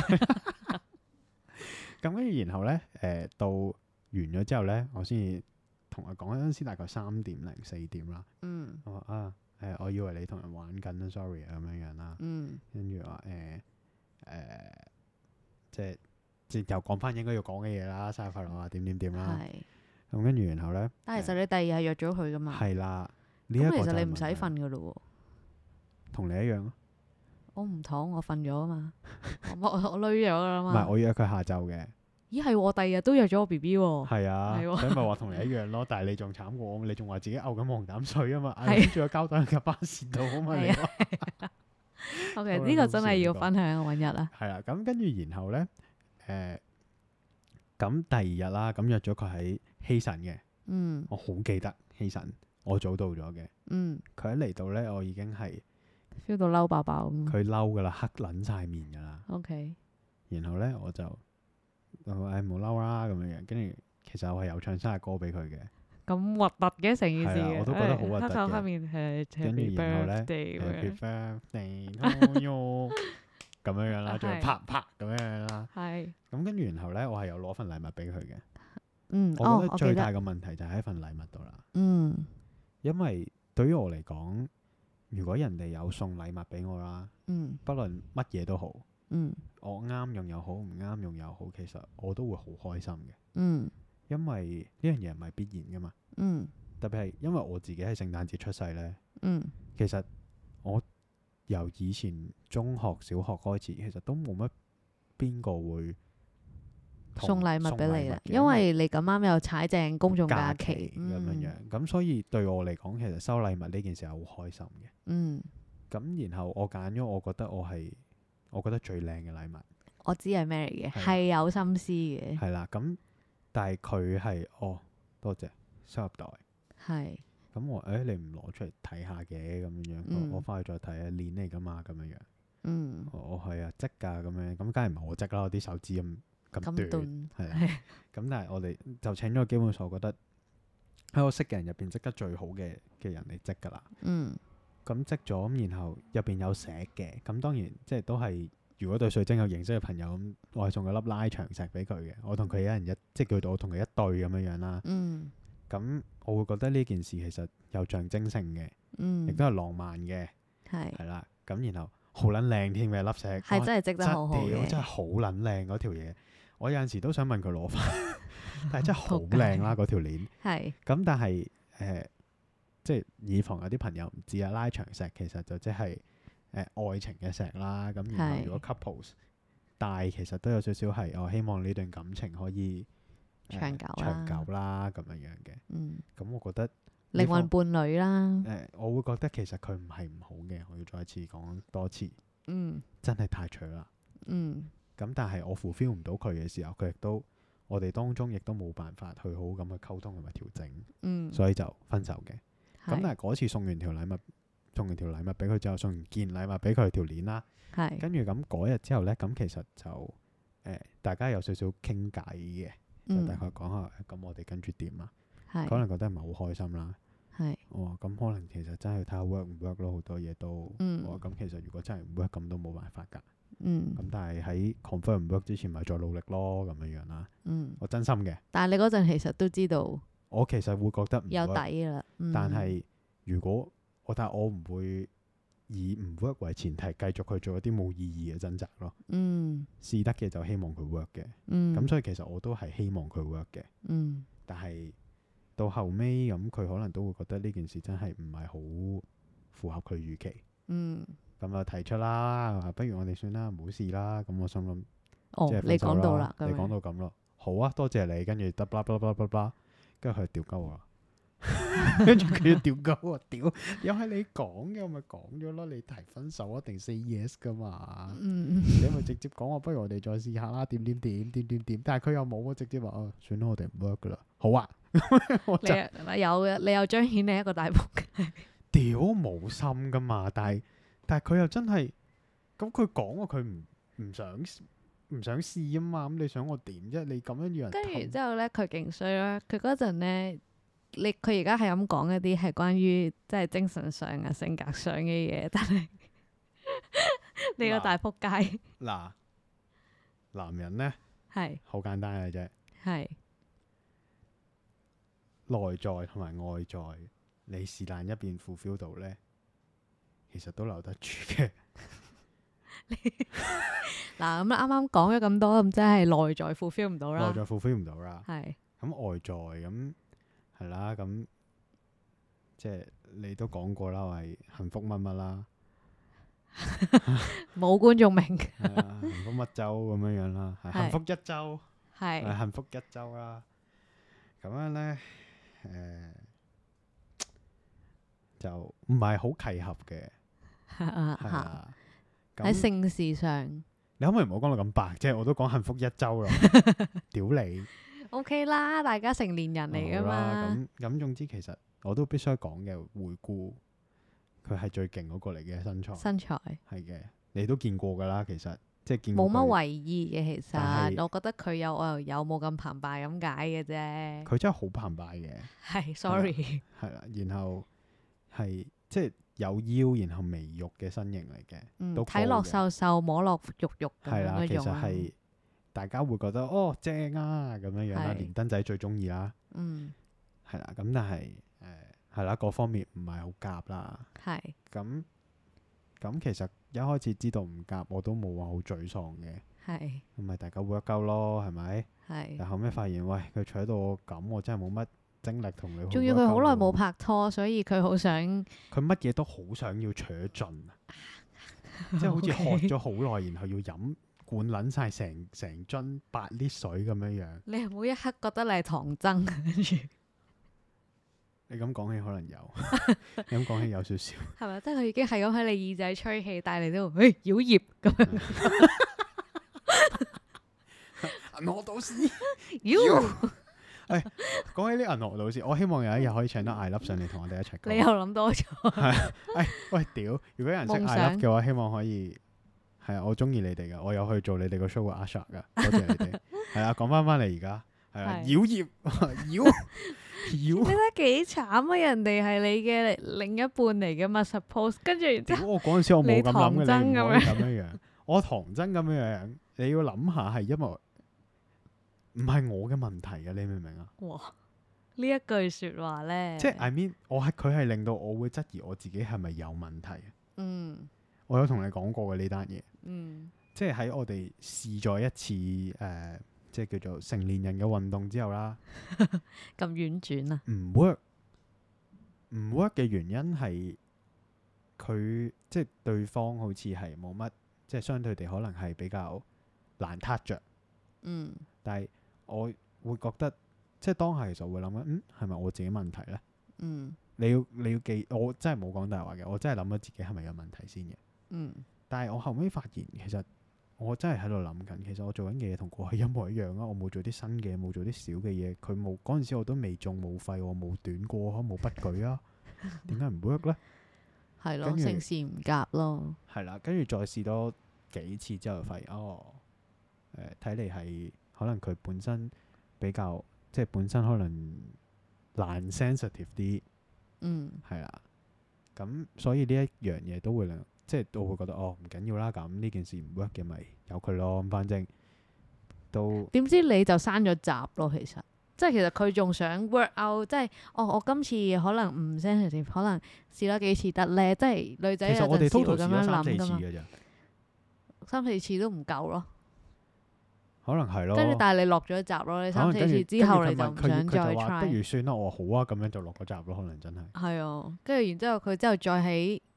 咁跟住然後咧，誒、到完咗之後咧，我先至同佢講嗰陣時大概三點零四點啦。 嗯我話啊，誒、我以為你同人玩緊啊，sorry 啊咁樣樣啦。 嗯跟住話誒誒，即係即係又講翻應該要講嘅嘢啦，生日快樂啊，點點點啦。 係， 咁跟住然後咧， 但係其實你第二日係約咗佢噶嘛？ 係啦，呢一個咁其就實你唔使係問題瞓噶咯同你一樣咯。 喎。我唔妥，我瞓咗啊嘛，我我我累咗噶啦嘛。 唔係，我約佢下晝嘅。 咦係喎，第二日都約咗我 B B 喎。 係啊， 係喎所以咪話同你一樣咯。但係你仲慘過我，你仲話自己嘔緊黃膽水啊嘛， 係嗌住個膠袋喺架巴士度啊嘛，你係話 O K， 好呢個真係要好笑分享，我揾日啦。 係啦。咁跟住然後咧，誒咁第二日啦，咁約咗佢喺希慎嘅， 嗯我好記得希慎，我早到咗嘅。 嗯佢一嚟到咧，我已經係 ，feel 到嬲爆爆咁。 佢嬲噶啦，黑撚晒面噶啦。 O K， 然後咧我就誒冇嬲啦咁樣樣，跟住其實我係有唱生日歌俾佢嘅。 咁核突嘅成件事嘅， 係啊我都覺得好核突嘅黑頭黑面係跟住 Happy 然後咧 Birthday 咁 ，Happy 樣 birthday to you 咁樣樣啦，仲要係啪啪咁樣樣啦。 係咁跟住然後咧，我係有攞份禮物俾佢嘅。 嗯， 我覺得哦我記得最大嘅問題就係喺份禮物度啦， 嗯因為對於我嚟講，如果人哋有送禮物俾我啦， 嗯不論乜嘢都好， 嗯我啱用又好，唔啱用又好，其實我都會好開心嘅， 嗯因為呢樣嘢唔係必然噶嘛。 嗯特別係因為我自己喺聖誕節出世咧， 嗯其實我由以前中學、小學開始，其實都冇乜邊個會同送禮物俾你啦， 嘅因為你咁啱又踩正公眾假假期期咁樣樣， 嗯咁所以對我嚟講，其實收禮物呢件事係好開心嘅。 嗯， 咁然後我揀咗，我覺得我係我覺得最靚嘅禮物我知係咩嚟嘅， 係係有心思嘅， 係啦。咁但係佢係哦，多謝收入袋。 係咁我誒你唔攞出嚟睇下嘅咁樣樣， 嗯我我翻去再睇啊，鏈嚟噶嘛咁樣樣。 嗯我我係啊織㗎咁樣，咁梗係唔係我織啦，我啲手指咁咁短咁短係啦。咁但係我哋就請咗個基本上我覺得喺我識嘅人入邊織得最好嘅嘅人嚟織㗎啦。 嗯咁織咗咁，然後入邊有石嘅，咁當然即係都係如果對水晶有認識嘅朋友咁，我係送咗粒拉長石俾佢嘅。我同佢一人一，即係叫做我同佢一對咁樣樣啦。 嗯咁我會覺得呢件事其實有象徵性嘅， 嗯， 亦都係浪漫嘅， 係係啦。咁然後好撚靚添嘅粒石，哇係真係織得好好真屌真係嘅， 好撚靚嗰條嘢。我有陣時都想問佢攞翻，但係真係好仆街靚啦嗰條鏈。 係咁但係誒、呃即係以防有啲朋友唔知啊，拉長石其實就即係誒愛情嘅石啦。咁然後係如果 couples 戴其實都有少少係我希望呢段感情可以、呃長久啦長久啦咁樣樣嘅。 嗯咁我覺得靈魂伴侶啦誒、，呃我會覺得其實佢唔係唔好嘅。我要再次講多次， 嗯真係太長啦。 嗯咁但係我 fulfill 唔到佢嘅時候，佢亦都我哋當中亦都冇辦法去好好咁去溝通同埋調整， 嗯， 所以就分手嘅。咁係但係嗰次送完條禮物，送完條禮物俾佢之後，送完件禮物俾佢條鏈啦， 係跟住咁嗰日之後呢，咁其實就誒、呃大家有少少傾偈嘅，就嗯大概講下咁我哋跟住點啊？ 係可能覺得唔係好開心啦。 係我話咁可能其實真係睇下 work 唔 work 咯，好多嘢都。 嗯我話咁其實如果真係唔 work 咁都冇辦法㗎。 嗯咁但係喺 confirm 唔 work 之前，咪再努力咯咁樣樣啦。 嗯， 我真心嘅， 但係你嗰陣其實都知道我其實會覺得唔有 work， 底㗎啦，嗯但係如果我但係我唔會以唔 work 為前提，繼續去做一啲冇意義嘅掙扎咯。 嗯試得嘅就希望佢 work 嘅， 嗯咁所以其實我都係希望佢 work 嘅。 嗯但係到後尾咁，佢可能都會覺得呢件事真係唔係好符合佢預期。 嗯， 咁就提出啦，話不如我哋算啦，唔好試啦。咁我心諗， 哦即係， 你分手講到啦， 你講咁樣到咁咯，好啊，多謝你，跟住得啦啦啦啦啦，跟住佢就屌鳩我啦，跟住佢就屌鳩我，屌，又係你講嘅，我咪講咗咯，你提分手一定 say yes 噶嘛， 嗯， 你咪直接講話，不如我哋再試下啦，點點點點點點，但係佢又冇喎，直接話哦，算啦，我哋唔 work 噶啦，好啊，我就你有嘅，你又彰顯你一個大仆街。 屌冇心噶嘛，但係但係佢又真係，咁佢講喎，佢唔唔想唔想試啊嘛，咁你想我點啫？你咁樣要人跟住氹之後咧，佢勁衰啦。佢嗰陣咧，你佢而家係咁講一啲係關於即係精神上啊、性格上嘅嘢，但係你個大仆街嗱，男人咧係好簡單嘅啫， 係內在同埋外在，你是但一邊 fulfill 到咧，其實都留得住嘅。 嗱咁啱啱講咗咁多，咁即係內在 fulfill 唔到啦內。在 fulfill 唔到啦， 係咁外在咁係啦，咁即係你都講過啦，話係幸福乜乜啦， 冇觀眾明， 係啊幸福乜周咁樣樣啦，係係幸福一周。係係幸福一周啦，咁樣咧，誒、就唔係好契合嘅，係喺啦。咁性事上你可唔可以唔好講到咁白啫？我都講幸福一周啦，屌你 OK 啦，大家成年人嚟噶好啦嘛。 咁咁總之其實我都必須講嘅，回顧佢係最勁嗰個嚟嘅身材， 身材係嘅，你都見過㗎啦，其實即係見過冇乜佢為意嘅，其但係實我覺得佢有我又有冇咁澎湃咁解嘅啫。 佢真係好澎湃嘅。 係，sorry， 係啦，然後係即係有腰，然後微肉嘅身形嚟嘅， 嗯， 都睇落高嘅瘦瘦，摸落肉肉咁樣係啦，其嗰種啊。 實係大家會覺得哦正啊咁樣樣啦， 係連登仔最中意啦， 嗯， 係啦，咁但係誒係啦，各方面唔係好夾啦， 係咁咁其實一開始知道唔夾，我都冇話好沮喪嘅， 係咁咪大家 work 鳩咯，係咪？但係。 後尾發現，喂佢取到我咁，我真係冇乜精力同你去 work 鳩喎。 仲要佢好耐冇拍拖，所以佢好想佢乜嘢都好想要扯盡啊，即係好似喝 OK 咗好耐，然後要飲灌撚晒成成樽八 lit 水咁樣樣。 你係每一刻覺得你係唐僧，跟住你咁講起可能有，你咁講起有少少。 係咪？即係佢已經係咁喺你耳仔吹氣，但係你都誒妖孽咁樣， 銀河導師， 妖講起啲銀河導師，我希望有一日可以請到艾粒上嚟同我哋一齊講。 你又諗多咗。 誒喂屌！如果有人識夢艾粒想嘅話，希望可以係啊，我中意你哋噶，我有去做你哋個 show 嘅 Asha 噶，多謝你哋。係啊，講翻翻嚟而家係啊， 係妖孽妖你妖。 睇幾慘啊！人哋係你嘅另一半嚟嘅嘛，suppose 跟住然之後屌！我嗰陣時我冇咁諗你嘅， 唐僧你唔可以咁樣樣。我唐僧咁樣樣，你要諗下係因為唔係我嘅問題嘅，你明唔明啊？ 哇！呢一句説話咧， 即係 I mean，我係佢係令到我會質疑我自己係咪有問題。 嗯我有同你講過嘅呢單嘢， 嗯即係喺我哋試咗一次誒、呃即係叫做成年人嘅運動之後啦， 咁婉轉啊， 唔 work，唔 work 嘅原因係佢即係對方好似係冇乜，即係相對地可能係比較難撻着。 嗯但係我會覺得，即係當下其實我會諗緊，嗯，係咪我自己問題呢？ 嗯你要你要記，我真係冇講大話嘅，我真係諗咗自己係咪有問題先嘅。 嗯但係我後尾發現，其實我真係喺度諗緊，其實我做緊嘅嘢同過去一模一樣啊！我冇做啲新嘅，冇做啲少嘅嘢。佢冇嗰陣時，我都未中冇廢，我冇短過，冇不舉啊。點解唔 work 呢？ 係咯， 跟住性事唔夾咯， 係啦，跟住再試多幾次之後，發現哦，誒睇嚟係可能佢本身比較即係本身可能難 sensitive 啲， 嗯係啦。咁所以呢一樣嘢都會令即係我會覺得哦唔緊要啦，咁呢件事唔 work 嘅咪由佢咯。咁反正都點知你就閂咗閘咯，其實。即係其實佢仲想 work out，即係哦，我今次可能唔 sensitive，可能試多幾次得咧。即係女仔有其實我哋陣時 total 試咗會咁樣三四諗噶嘛， 次嘅咋， 三四次都唔夠咯。 可能係咯。 跟住但係你落咗閘咯，你三四可能跟住次之後你就唔跟住佢問想再佢佢就話不 try。 如算啦，我話好啊，咁樣就落個閘咯。可能真係係啊，跟住然之後佢之後再喺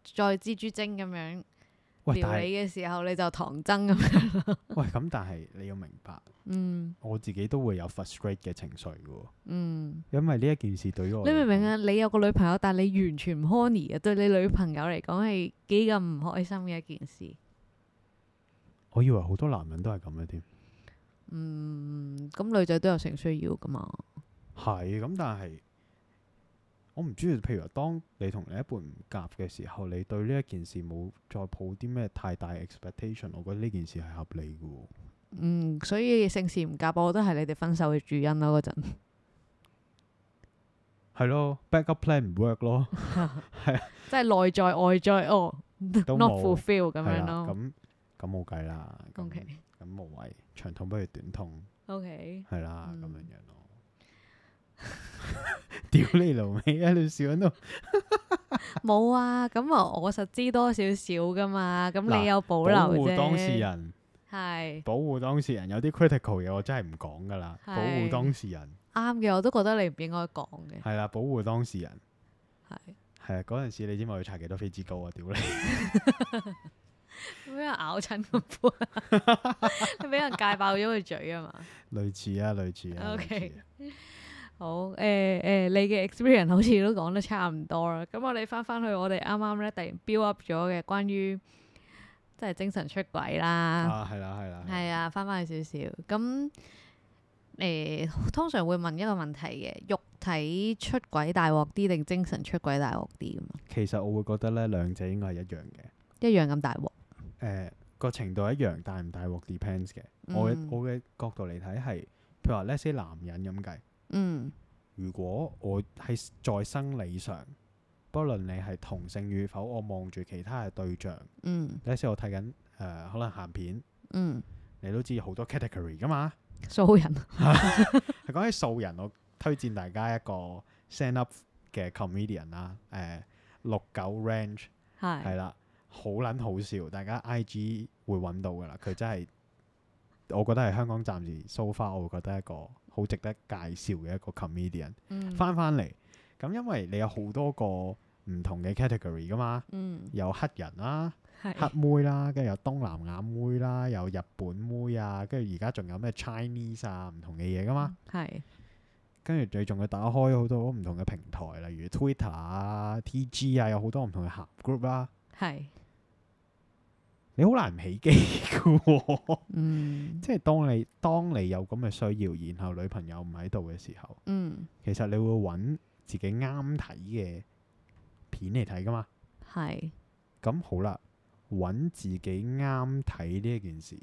再蜘蛛精咁樣喂， 撩但係你嘅時候，你就唐僧咁樣。 喂咁，但係你要明白， 嗯我自己都會有 frustrate 嘅情緒嘅喎， 嗯， 因為呢一件事對於我嚟講你明唔明啊？你有個女朋友，但係你完全唔 horny 嘅，對你女朋友嚟講係幾咁唔開心嘅一件事。 我以為好多男人都係咁嘅添。 嗯，咁女仔都有性需要噶嘛？ 係咁，但係我唔知，譬如話，當你同另一半唔夾嘅時候，你對呢一件事冇再抱啲咩太大 expectation，我覺得呢件事係合理嘅喎。 嗯，所以性事唔夾，我覺得係你哋分手嘅主因咯。嗰陣係咯，backup plan 唔 work 咯， 即係內在外在哦都 ，not 冇 fulfill 咁係啦， 樣咯。 咁咁冇計啦。咁 OK 咁無謂，長痛不如短痛， OK， 係啦，咁嗯樣樣咯。屌你老味啊！你笑喺度。 冇啊，咁啊，我實知多少少噶嘛，咁嗱你有保保留護當事啫， 人， 係保護當事人有啲 critical 嘢，我真係唔講噶啦。 係保護當事人啱嘅，我都覺得你唔應該講嘅， 係啦，保護當事人係係啊。嗰陣時你知唔知我要搽幾多飛脂膏啊？屌你！ 俾人咬親個杯，你俾人戒爆咗個嘴啊嘛。 類似啊，類似啊。 OK 類似啊好，誒、誒、你嘅 experience 好似都講得差唔多啦。咁我哋翻翻去我哋啱啱咧突然 build up 咗嘅關於即係精神出軌啦， 啊，係啦，係啦， 係啊，翻翻去少少。咁誒、通常會問一個問題嘅，肉體出軌大鑊啲定精神出軌大鑊啲咁啊？ 其實我會覺得咧，兩者應該係一樣嘅。 一樣咁大鑊。 誒個程度一樣，大唔大鑊 depends 嘅。我嘅嗯我嘅角度嚟睇係，譬如話 let's say 男人咁計。 嗯如果我係在生理上，不論你係同性與否，我望住其他嘅對象， 嗯呢時我睇緊誒可能鹹片， 嗯， 你都知好多 category 噶嘛。 素人係講起素人，我推薦大家一個 stand up 嘅 comedian 啦，誒六九 range 係係啦，好撚好笑，大家 I G 會揾到噶啦。佢真係我覺得係香港暫時 so far，我會覺得一個好值得介紹嘅一個 comedian 嗯翻翻嚟。咁因為你有好多個唔同嘅 category 噶嘛， 嗯有黑人啦、黑係妹啦，跟住有東南亞妹啦，有日本妹啊，跟住而家仲有咩 Chinese 啊，唔同嘅嘢噶嘛。 係跟住你仲要打開好多唔同嘅平台，例如 Twitter 啊、T G 啊，有好多唔同嘅鹹 group 啦。 係你好難唔起機嘅喎， 嗯即係當你當你有咁嘅需要，然後女朋友唔喺度嘅時候， 嗯其實你會揾自己啱睇嘅片嚟睇噶嘛。 係咁好啦，揾自己啱睇呢一件事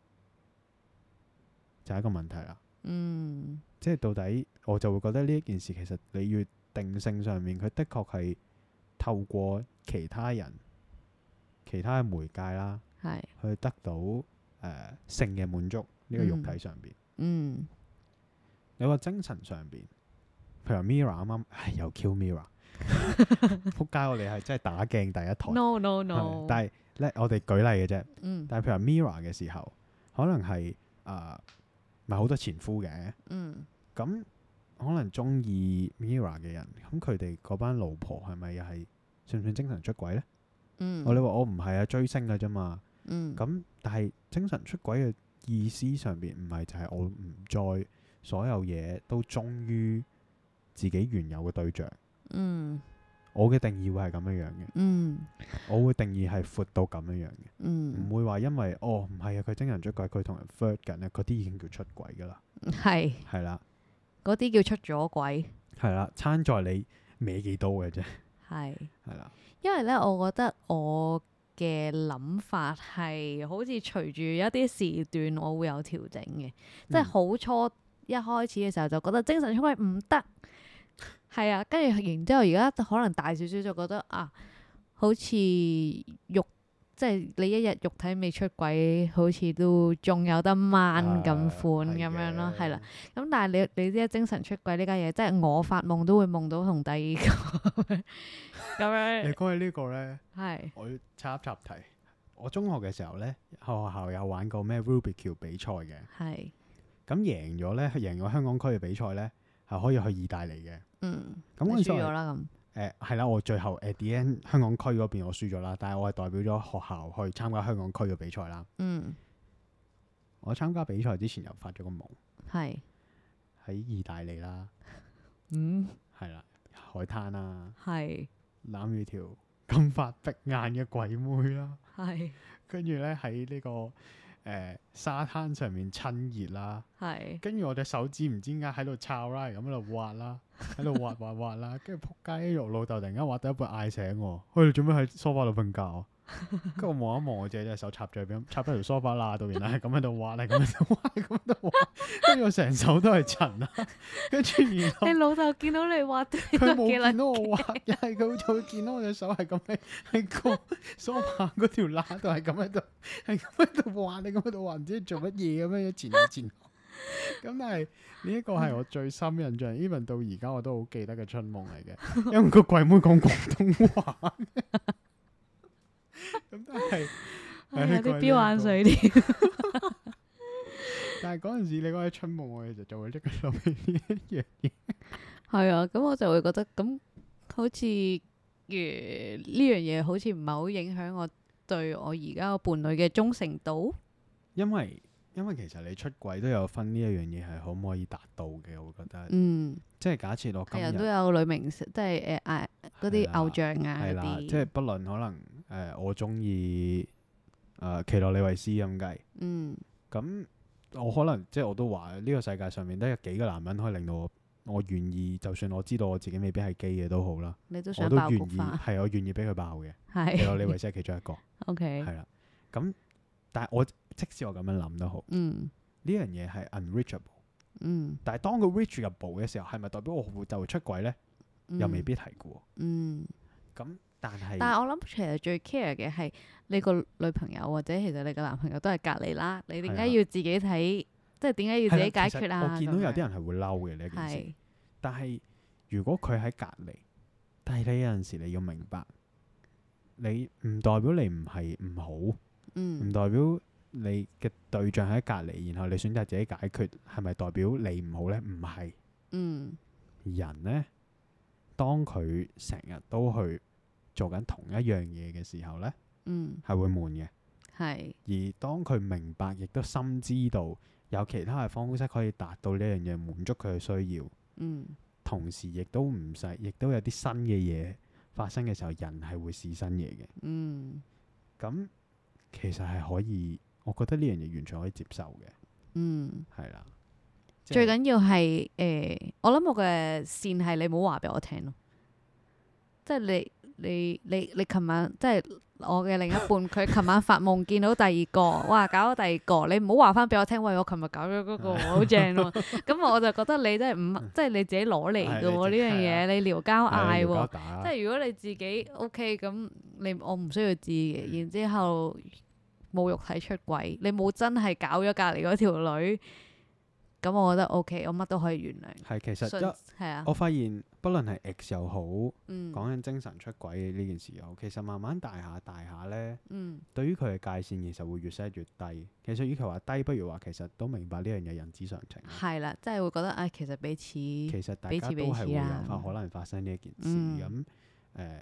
就係一個問題啦。 嗯即係到底我就會覺得呢一件事其實你要定性上面，佢的確係透過其他人、其他嘅媒介啦， 係去得到誒、呃、性嘅滿足呢個肉體上邊。 嗯你話精神上邊，譬如 Mirror 啱啱，唉又 Q Mirror，仆街！我哋係真係打鏡第一台。 no no 係 no， 但係咧，我哋舉例嘅啫。 嗯但係譬如話 Mirror 嘅時候，可能係誒咪好多前夫嘅， 嗯咁可能中意 Mirror 嘅人，咁佢哋嗰班老婆係咪又係算唔算精神出軌呢？ 嗯， 我你話我唔係啊，追星嘅啫嘛。 嗯咁但係精神出軌嘅意思上邊唔係就係我唔再所有嘢都忠於自己原有嘅對象。 嗯我嘅定義會係咁樣樣嘅， 嗯我會定義係闊到咁樣樣嘅。唔嗯會話因為哦唔係啊，佢精神出軌，佢同人 flirt 緊咧，嗰啲已經叫出軌噶啦， 係係啦， 嗰啲叫出咗軌， 係啦，參在你歪幾刀嘅啫， 係。 係啦， 因為咧，我覺得我嘅諗法係好似隨住一啲時段，我會有調整嘅。即係嗯好初一開始嘅時候就覺得精神出軌唔得，係啊，跟住然之後而家可能大少少就覺得啊，好似肉即係你一日肉體未出軌，好似都仲有得掹咁款咁樣咯，係啦。咁但係你你知精神出軌呢家嘢，即係我發夢都會夢到同第二個咁你樣， 講起呢個呢， 係我要插一插題。我中學嘅時候呢，學校有玩過咩 Rubik 橋比賽嘅， 係咁贏咗呢，贏咗香港區嘅比賽呢，係可以去意大利嘅。 嗯， 咁嗰陣時我係你輸咗啦咁， 誒係啦，我最後 at the end 香港區嗰邊我輸咗啦，但係我係代表咗學校去參加香港區嘅比賽啦。 嗯， 我參加比賽之前又發咗個夢， 係， 喺意大利啦， 嗯， 係啦，海灘啦， 係， 攬住條金髮碧眼嘅鬼妹啦， 係， 跟住咧喺呢個誒、呃、沙灘上面親熱啦， 係， 跟住我隻手指唔知點解喺度抄啦，咁喺度挖啦，喺度挖挖挖啦，跟住仆街，我老豆突然間挖到一半嗌醒我，喂，你做咩喺梳化度瞓覺啊？跟住我望一望我自己隻手插咗入邊，插喺條梳化罅度，原來係咁喺度挖，係咁喺度挖，係咁喺度挖，跟住我成手都係塵啦，跟住然後你老豆見到你畫佢冇見到我挖，又係佢就會見到我隻手係咁喺喺個梳化嗰條罅度係咁喺度，係咁喺度挖，你咁喺度挖，唔知做乜嘢咁樣前後前後。咁但係呢一個係我最深印象，even 到而家我都好記得嘅春夢嚟嘅，因為個鬼妹講廣東話。咁但係係有啲飆眼水添。 但係嗰陣時你講起春夢，我其實就會即刻諗起呢一樣嘢。 係啊，咁我就會覺得咁好似如呢樣嘢好似唔係好影響我對我而家個伴侶嘅忠誠度。 因為因為其實你出軌都有分呢一樣嘢係可唔可以達到嘅，我覺得。 嗯， 即係假設我今係啊，都日有女明星，即係誒嗌嗰啲偶像啊係啦， 嗰啲。 即係不論可能誒、呃、我中意誒奇洛李維斯咁計， 嗯咁我可能即係我都話呢個世界上面得有幾個男人可以令到我我願意，就算我知道我自己未必係基嘅都好啦， 你都我想爆菊都願意花。 係我願意俾佢爆嘅。 係。 奇洛李維斯係其中一個， OK。 係啦。咁但係我即使我咁樣諗都好， 嗯呢樣嘢係 unreachable。 嗯。 但係當佢 reachable 嘅時候，係咪代表我會就會出軌呢？ 嗯又未必係嘅喎。 嗯。 咁但係但係我諗其實最 care 嘅係你個女朋友或者其實你個男朋友都係隔離啦，你點解係啊要自己睇？即係點解要自己解決啊？ 係啦其實我見到有啲咁樣人係會嬲嘅呢一件事。 係但係如果佢喺隔離，但係你有陣時你要明白，你唔代表你唔係唔好，唔、 嗯代表你嘅對象喺隔離，然後你選擇自己解決，係咪代表你唔好呢？唔係。 嗯人呢，當佢成日都去做緊同一樣嘢嘅時候呢， 嗯係會悶嘅。 係而當佢明白，亦都深知道有其他嘅方式可以達到呢樣嘢，滿足佢嘅需要， 嗯同時亦都唔使，亦都有啲新嘅嘢發生嘅時候，人係會試新嘢嘅。 嗯咁其實係可以，我覺得呢樣嘢完全可以接受嘅， 嗯。 係啦。即係最緊要係誒、呃我諗我嘅線係你唔好話俾我聽咯，即係你你你你琴晚即係我嘅另一半，佢琴晚發夢見到第二個，哇搞咗第二個，你唔好話翻俾我聽，喂我琴日搞咗嗰個好正喎，咁我就覺得你真係唔即係你自己攞嚟嘅喎呢樣嘢，你撩交嗌係喎， 打即係如果你自己 OK 咁，你我唔需要知嘅，然之後冇肉體出軌，你冇真係搞咗隔離嗰條女。咁我覺得 OK，我乜都可以原諒。 係其實信一係啊， 我發現，不論係 X 又好， 嗯講緊精神出軌嘅呢件事又好，其實慢慢大下大下呢， 嗯對於佢嘅界線其實會越 set 越低。其實與其話低，不如話其實都明白呢樣嘢人之常情。 係啦，即係會覺得啊，其實彼此其實大彼此彼家都係會有此啦發可能發生呢一件事。 嗯咁誒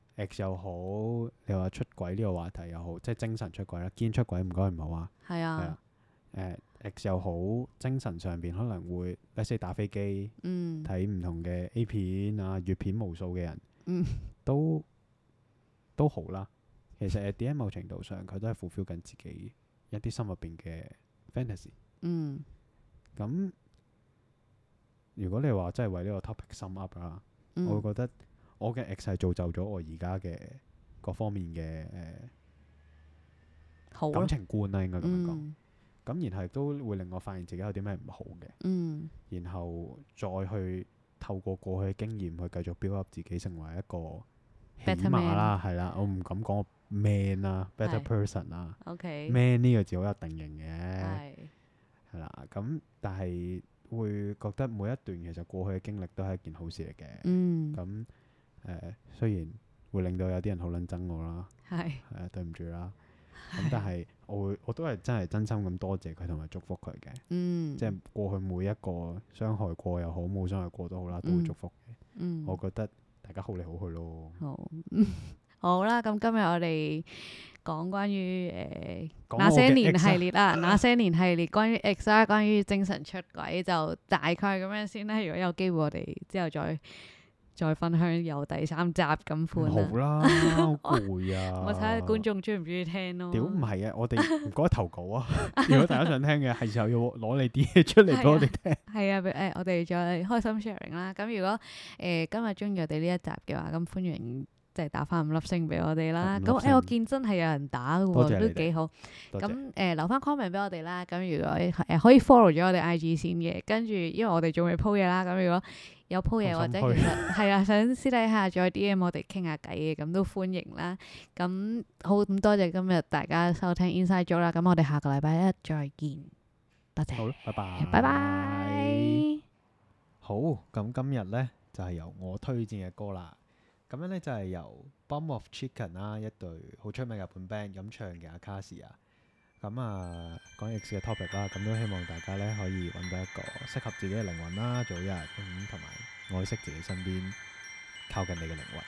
X 又好，你話出軌呢個話題又好，即係精神出軌啦，堅出軌唔該唔好啊。係係啊啊，，誒 X 又好，精神上邊可能會，let's say 打飛機。 嗯睇唔同嘅 A 片啊、粵片無數嘅人， 嗯都都好啦。其實 at the end 某程度上，佢都係 fulfill 緊自己一啲心入邊嘅 fantasy。 嗯咁如果你話真係為呢個 topic sum up 啦， 嗯我會覺得我嘅 ex 係造就咗我而家嘅各方面嘅誒、 好咯， 感情觀啦，應該咁樣講。 嗯咁、然後亦都會令我發現自己有啲咩唔好嘅， 嗯然後再去透過過去嘅經驗去繼續 build up 自己成為一個起 Better 碼啦，係啦，我唔敢講 man 啦，better 係 person 啦 ，OK， ，man 呢個字好有定型嘅， 係係啦。咁但係會覺得每一段其實過去嘅經歷都係一件好事嚟嘅。 嗯咁誒、呃，雖然會令到有啲人好撚憎我啦， 係係啊，對唔住啦。咁但係我會我都係真係真心咁多謝佢同埋祝福佢嘅。 嗯即係過去每一個傷害過又好，冇傷害過都好啦，都會嗯祝福嘅。 嗯我覺得大家好嚟好去咯。 好，好啦，咁今日我哋講關於誒講那些我嘅年 X 啊系列啦，那些年系列關於 X 啦，關於精神出軌就大概咁樣先啦。如果有機會，我哋之後再再分享有第三集咁唔款好啦。 啦，好攰啊！ 我睇下觀眾中唔中意聽咯。 屌唔係啊！我哋唔該投稿啊！如果大家想聽嘅，係時候要攞你啲嘢出嚟俾我哋聽。 係啊，誒、我哋再開心 sharing 啦。咁如果誒、呃今日中意我哋呢一集嘅話，咁歡迎即係打翻五粒星俾我哋啦。咁誒、 五粒星我見真係有人打嘅喎， 多謝你哋都幾好。 多謝。 咁誒、呃留翻 comment 俾我哋啦。咁如果誒、呃可以 follow 咗我哋 I G 先嘅，跟住因為我哋仲未 po 嘢啦。咁如果有 po 嘢好心或者其實係啊，想私底下再 D M 我哋傾下偈嘅，咁都歡迎啦。咁好，咁多謝今日大家收聽 Inside Joke 啦。咁我哋下個禮拜一再見，多謝， 好啦，拜拜。 拜拜。 好，咁今日呢，就係、由我推薦嘅歌啦。咁樣呢，就係、由 Bomb of Chicken 啦，一隊好出名嘅日本 band 咁唱嘅阿卡士啊。咁啊，講 X 嘅 topic 啦，咁都希望大家呢可以揾到一個適合自己嘅靈魂啦，早一日咁同埋愛惜自己身邊靠近你嘅靈魂。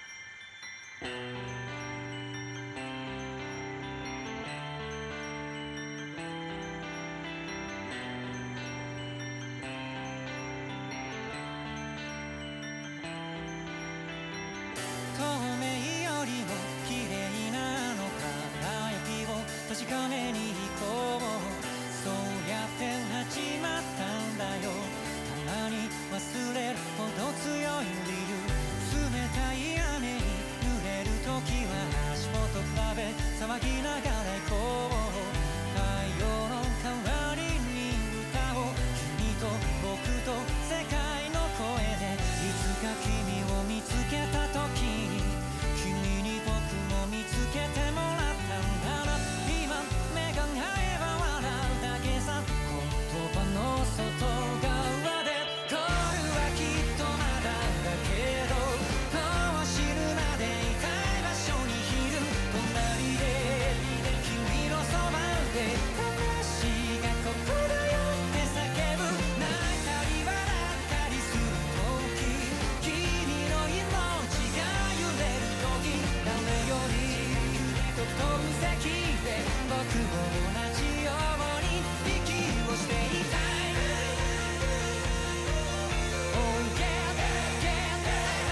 透明よりも綺麗なの輝きを確かめに行こう。そうやって始まったんだよ。たまに忘れるほど強い理由。冷たい雨に濡れる時は足元比べ騒ぎながら行こう。太陽の代わりに歌を君と僕と世界の声でいつか君を見つけた時に君に僕も見つけてもらったんだな。今目が合えば笑うだけさ。言葉の外側で恋はきっとまだだけどもう死ぬまでいたい場所にいる。隣で君のそばで魂がここだよって叫ぶ。泣いたり笑ったりする時君の命が揺れる時誰より飛ぶ席で僕も同じように息をしていたい。Oh yeah, yeah,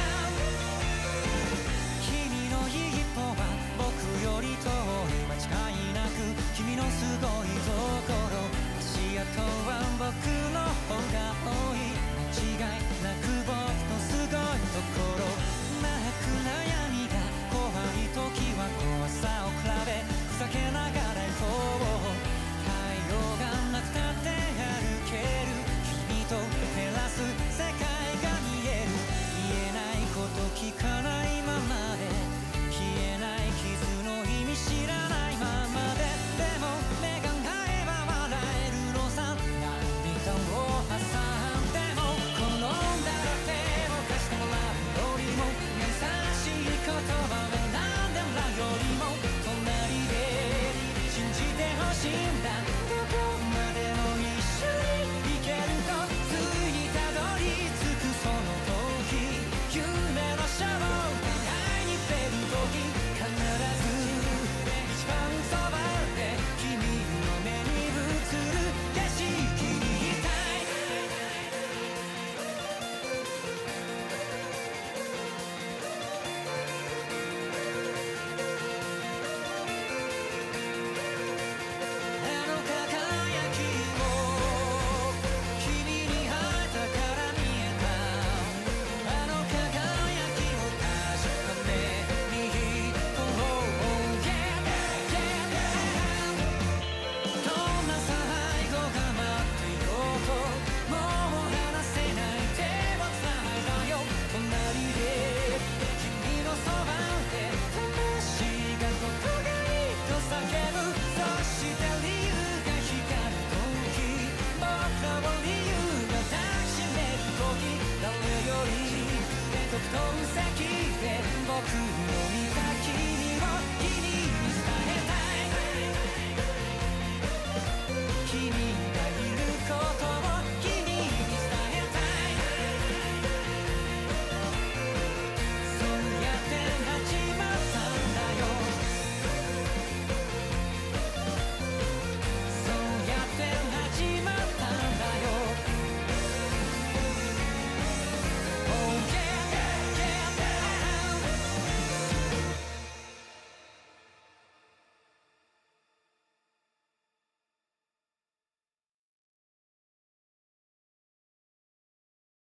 yeah. 君の一歩は僕より遠い間違いなく君のすごいところ。足跡は僕の方が多い間違いなく僕のすごいところ。泣く悩みが怖い時は怖さを比べふざけながら行こう。太陽がなくたって歩ける君と照らす世界が見える。言えないこと聞かないままで消えない傷の意味知らないままで。でも目が合えば笑えるのさ。涙を挟んでも転んだら手を貸してもらうよりも優しい言葉を選んでもらうよりも隣で信じてほしいんだ。どこまでも一緒に行けるとついにたどり着くその時夢のシャワーを互いに触れる時必ず一番そばで君の目に映る景色にいたい。あの輝きを君に会えたから見えた。あの輝きを確かめに行こう。Yeah, yeah. どんな最後が待っていようともう離せない手をつないだよ。隣で君のそばで魂がここがいいと叫ぶ。そして理由が光る時僕らを理由が抱きしめる時誰より遠く席で僕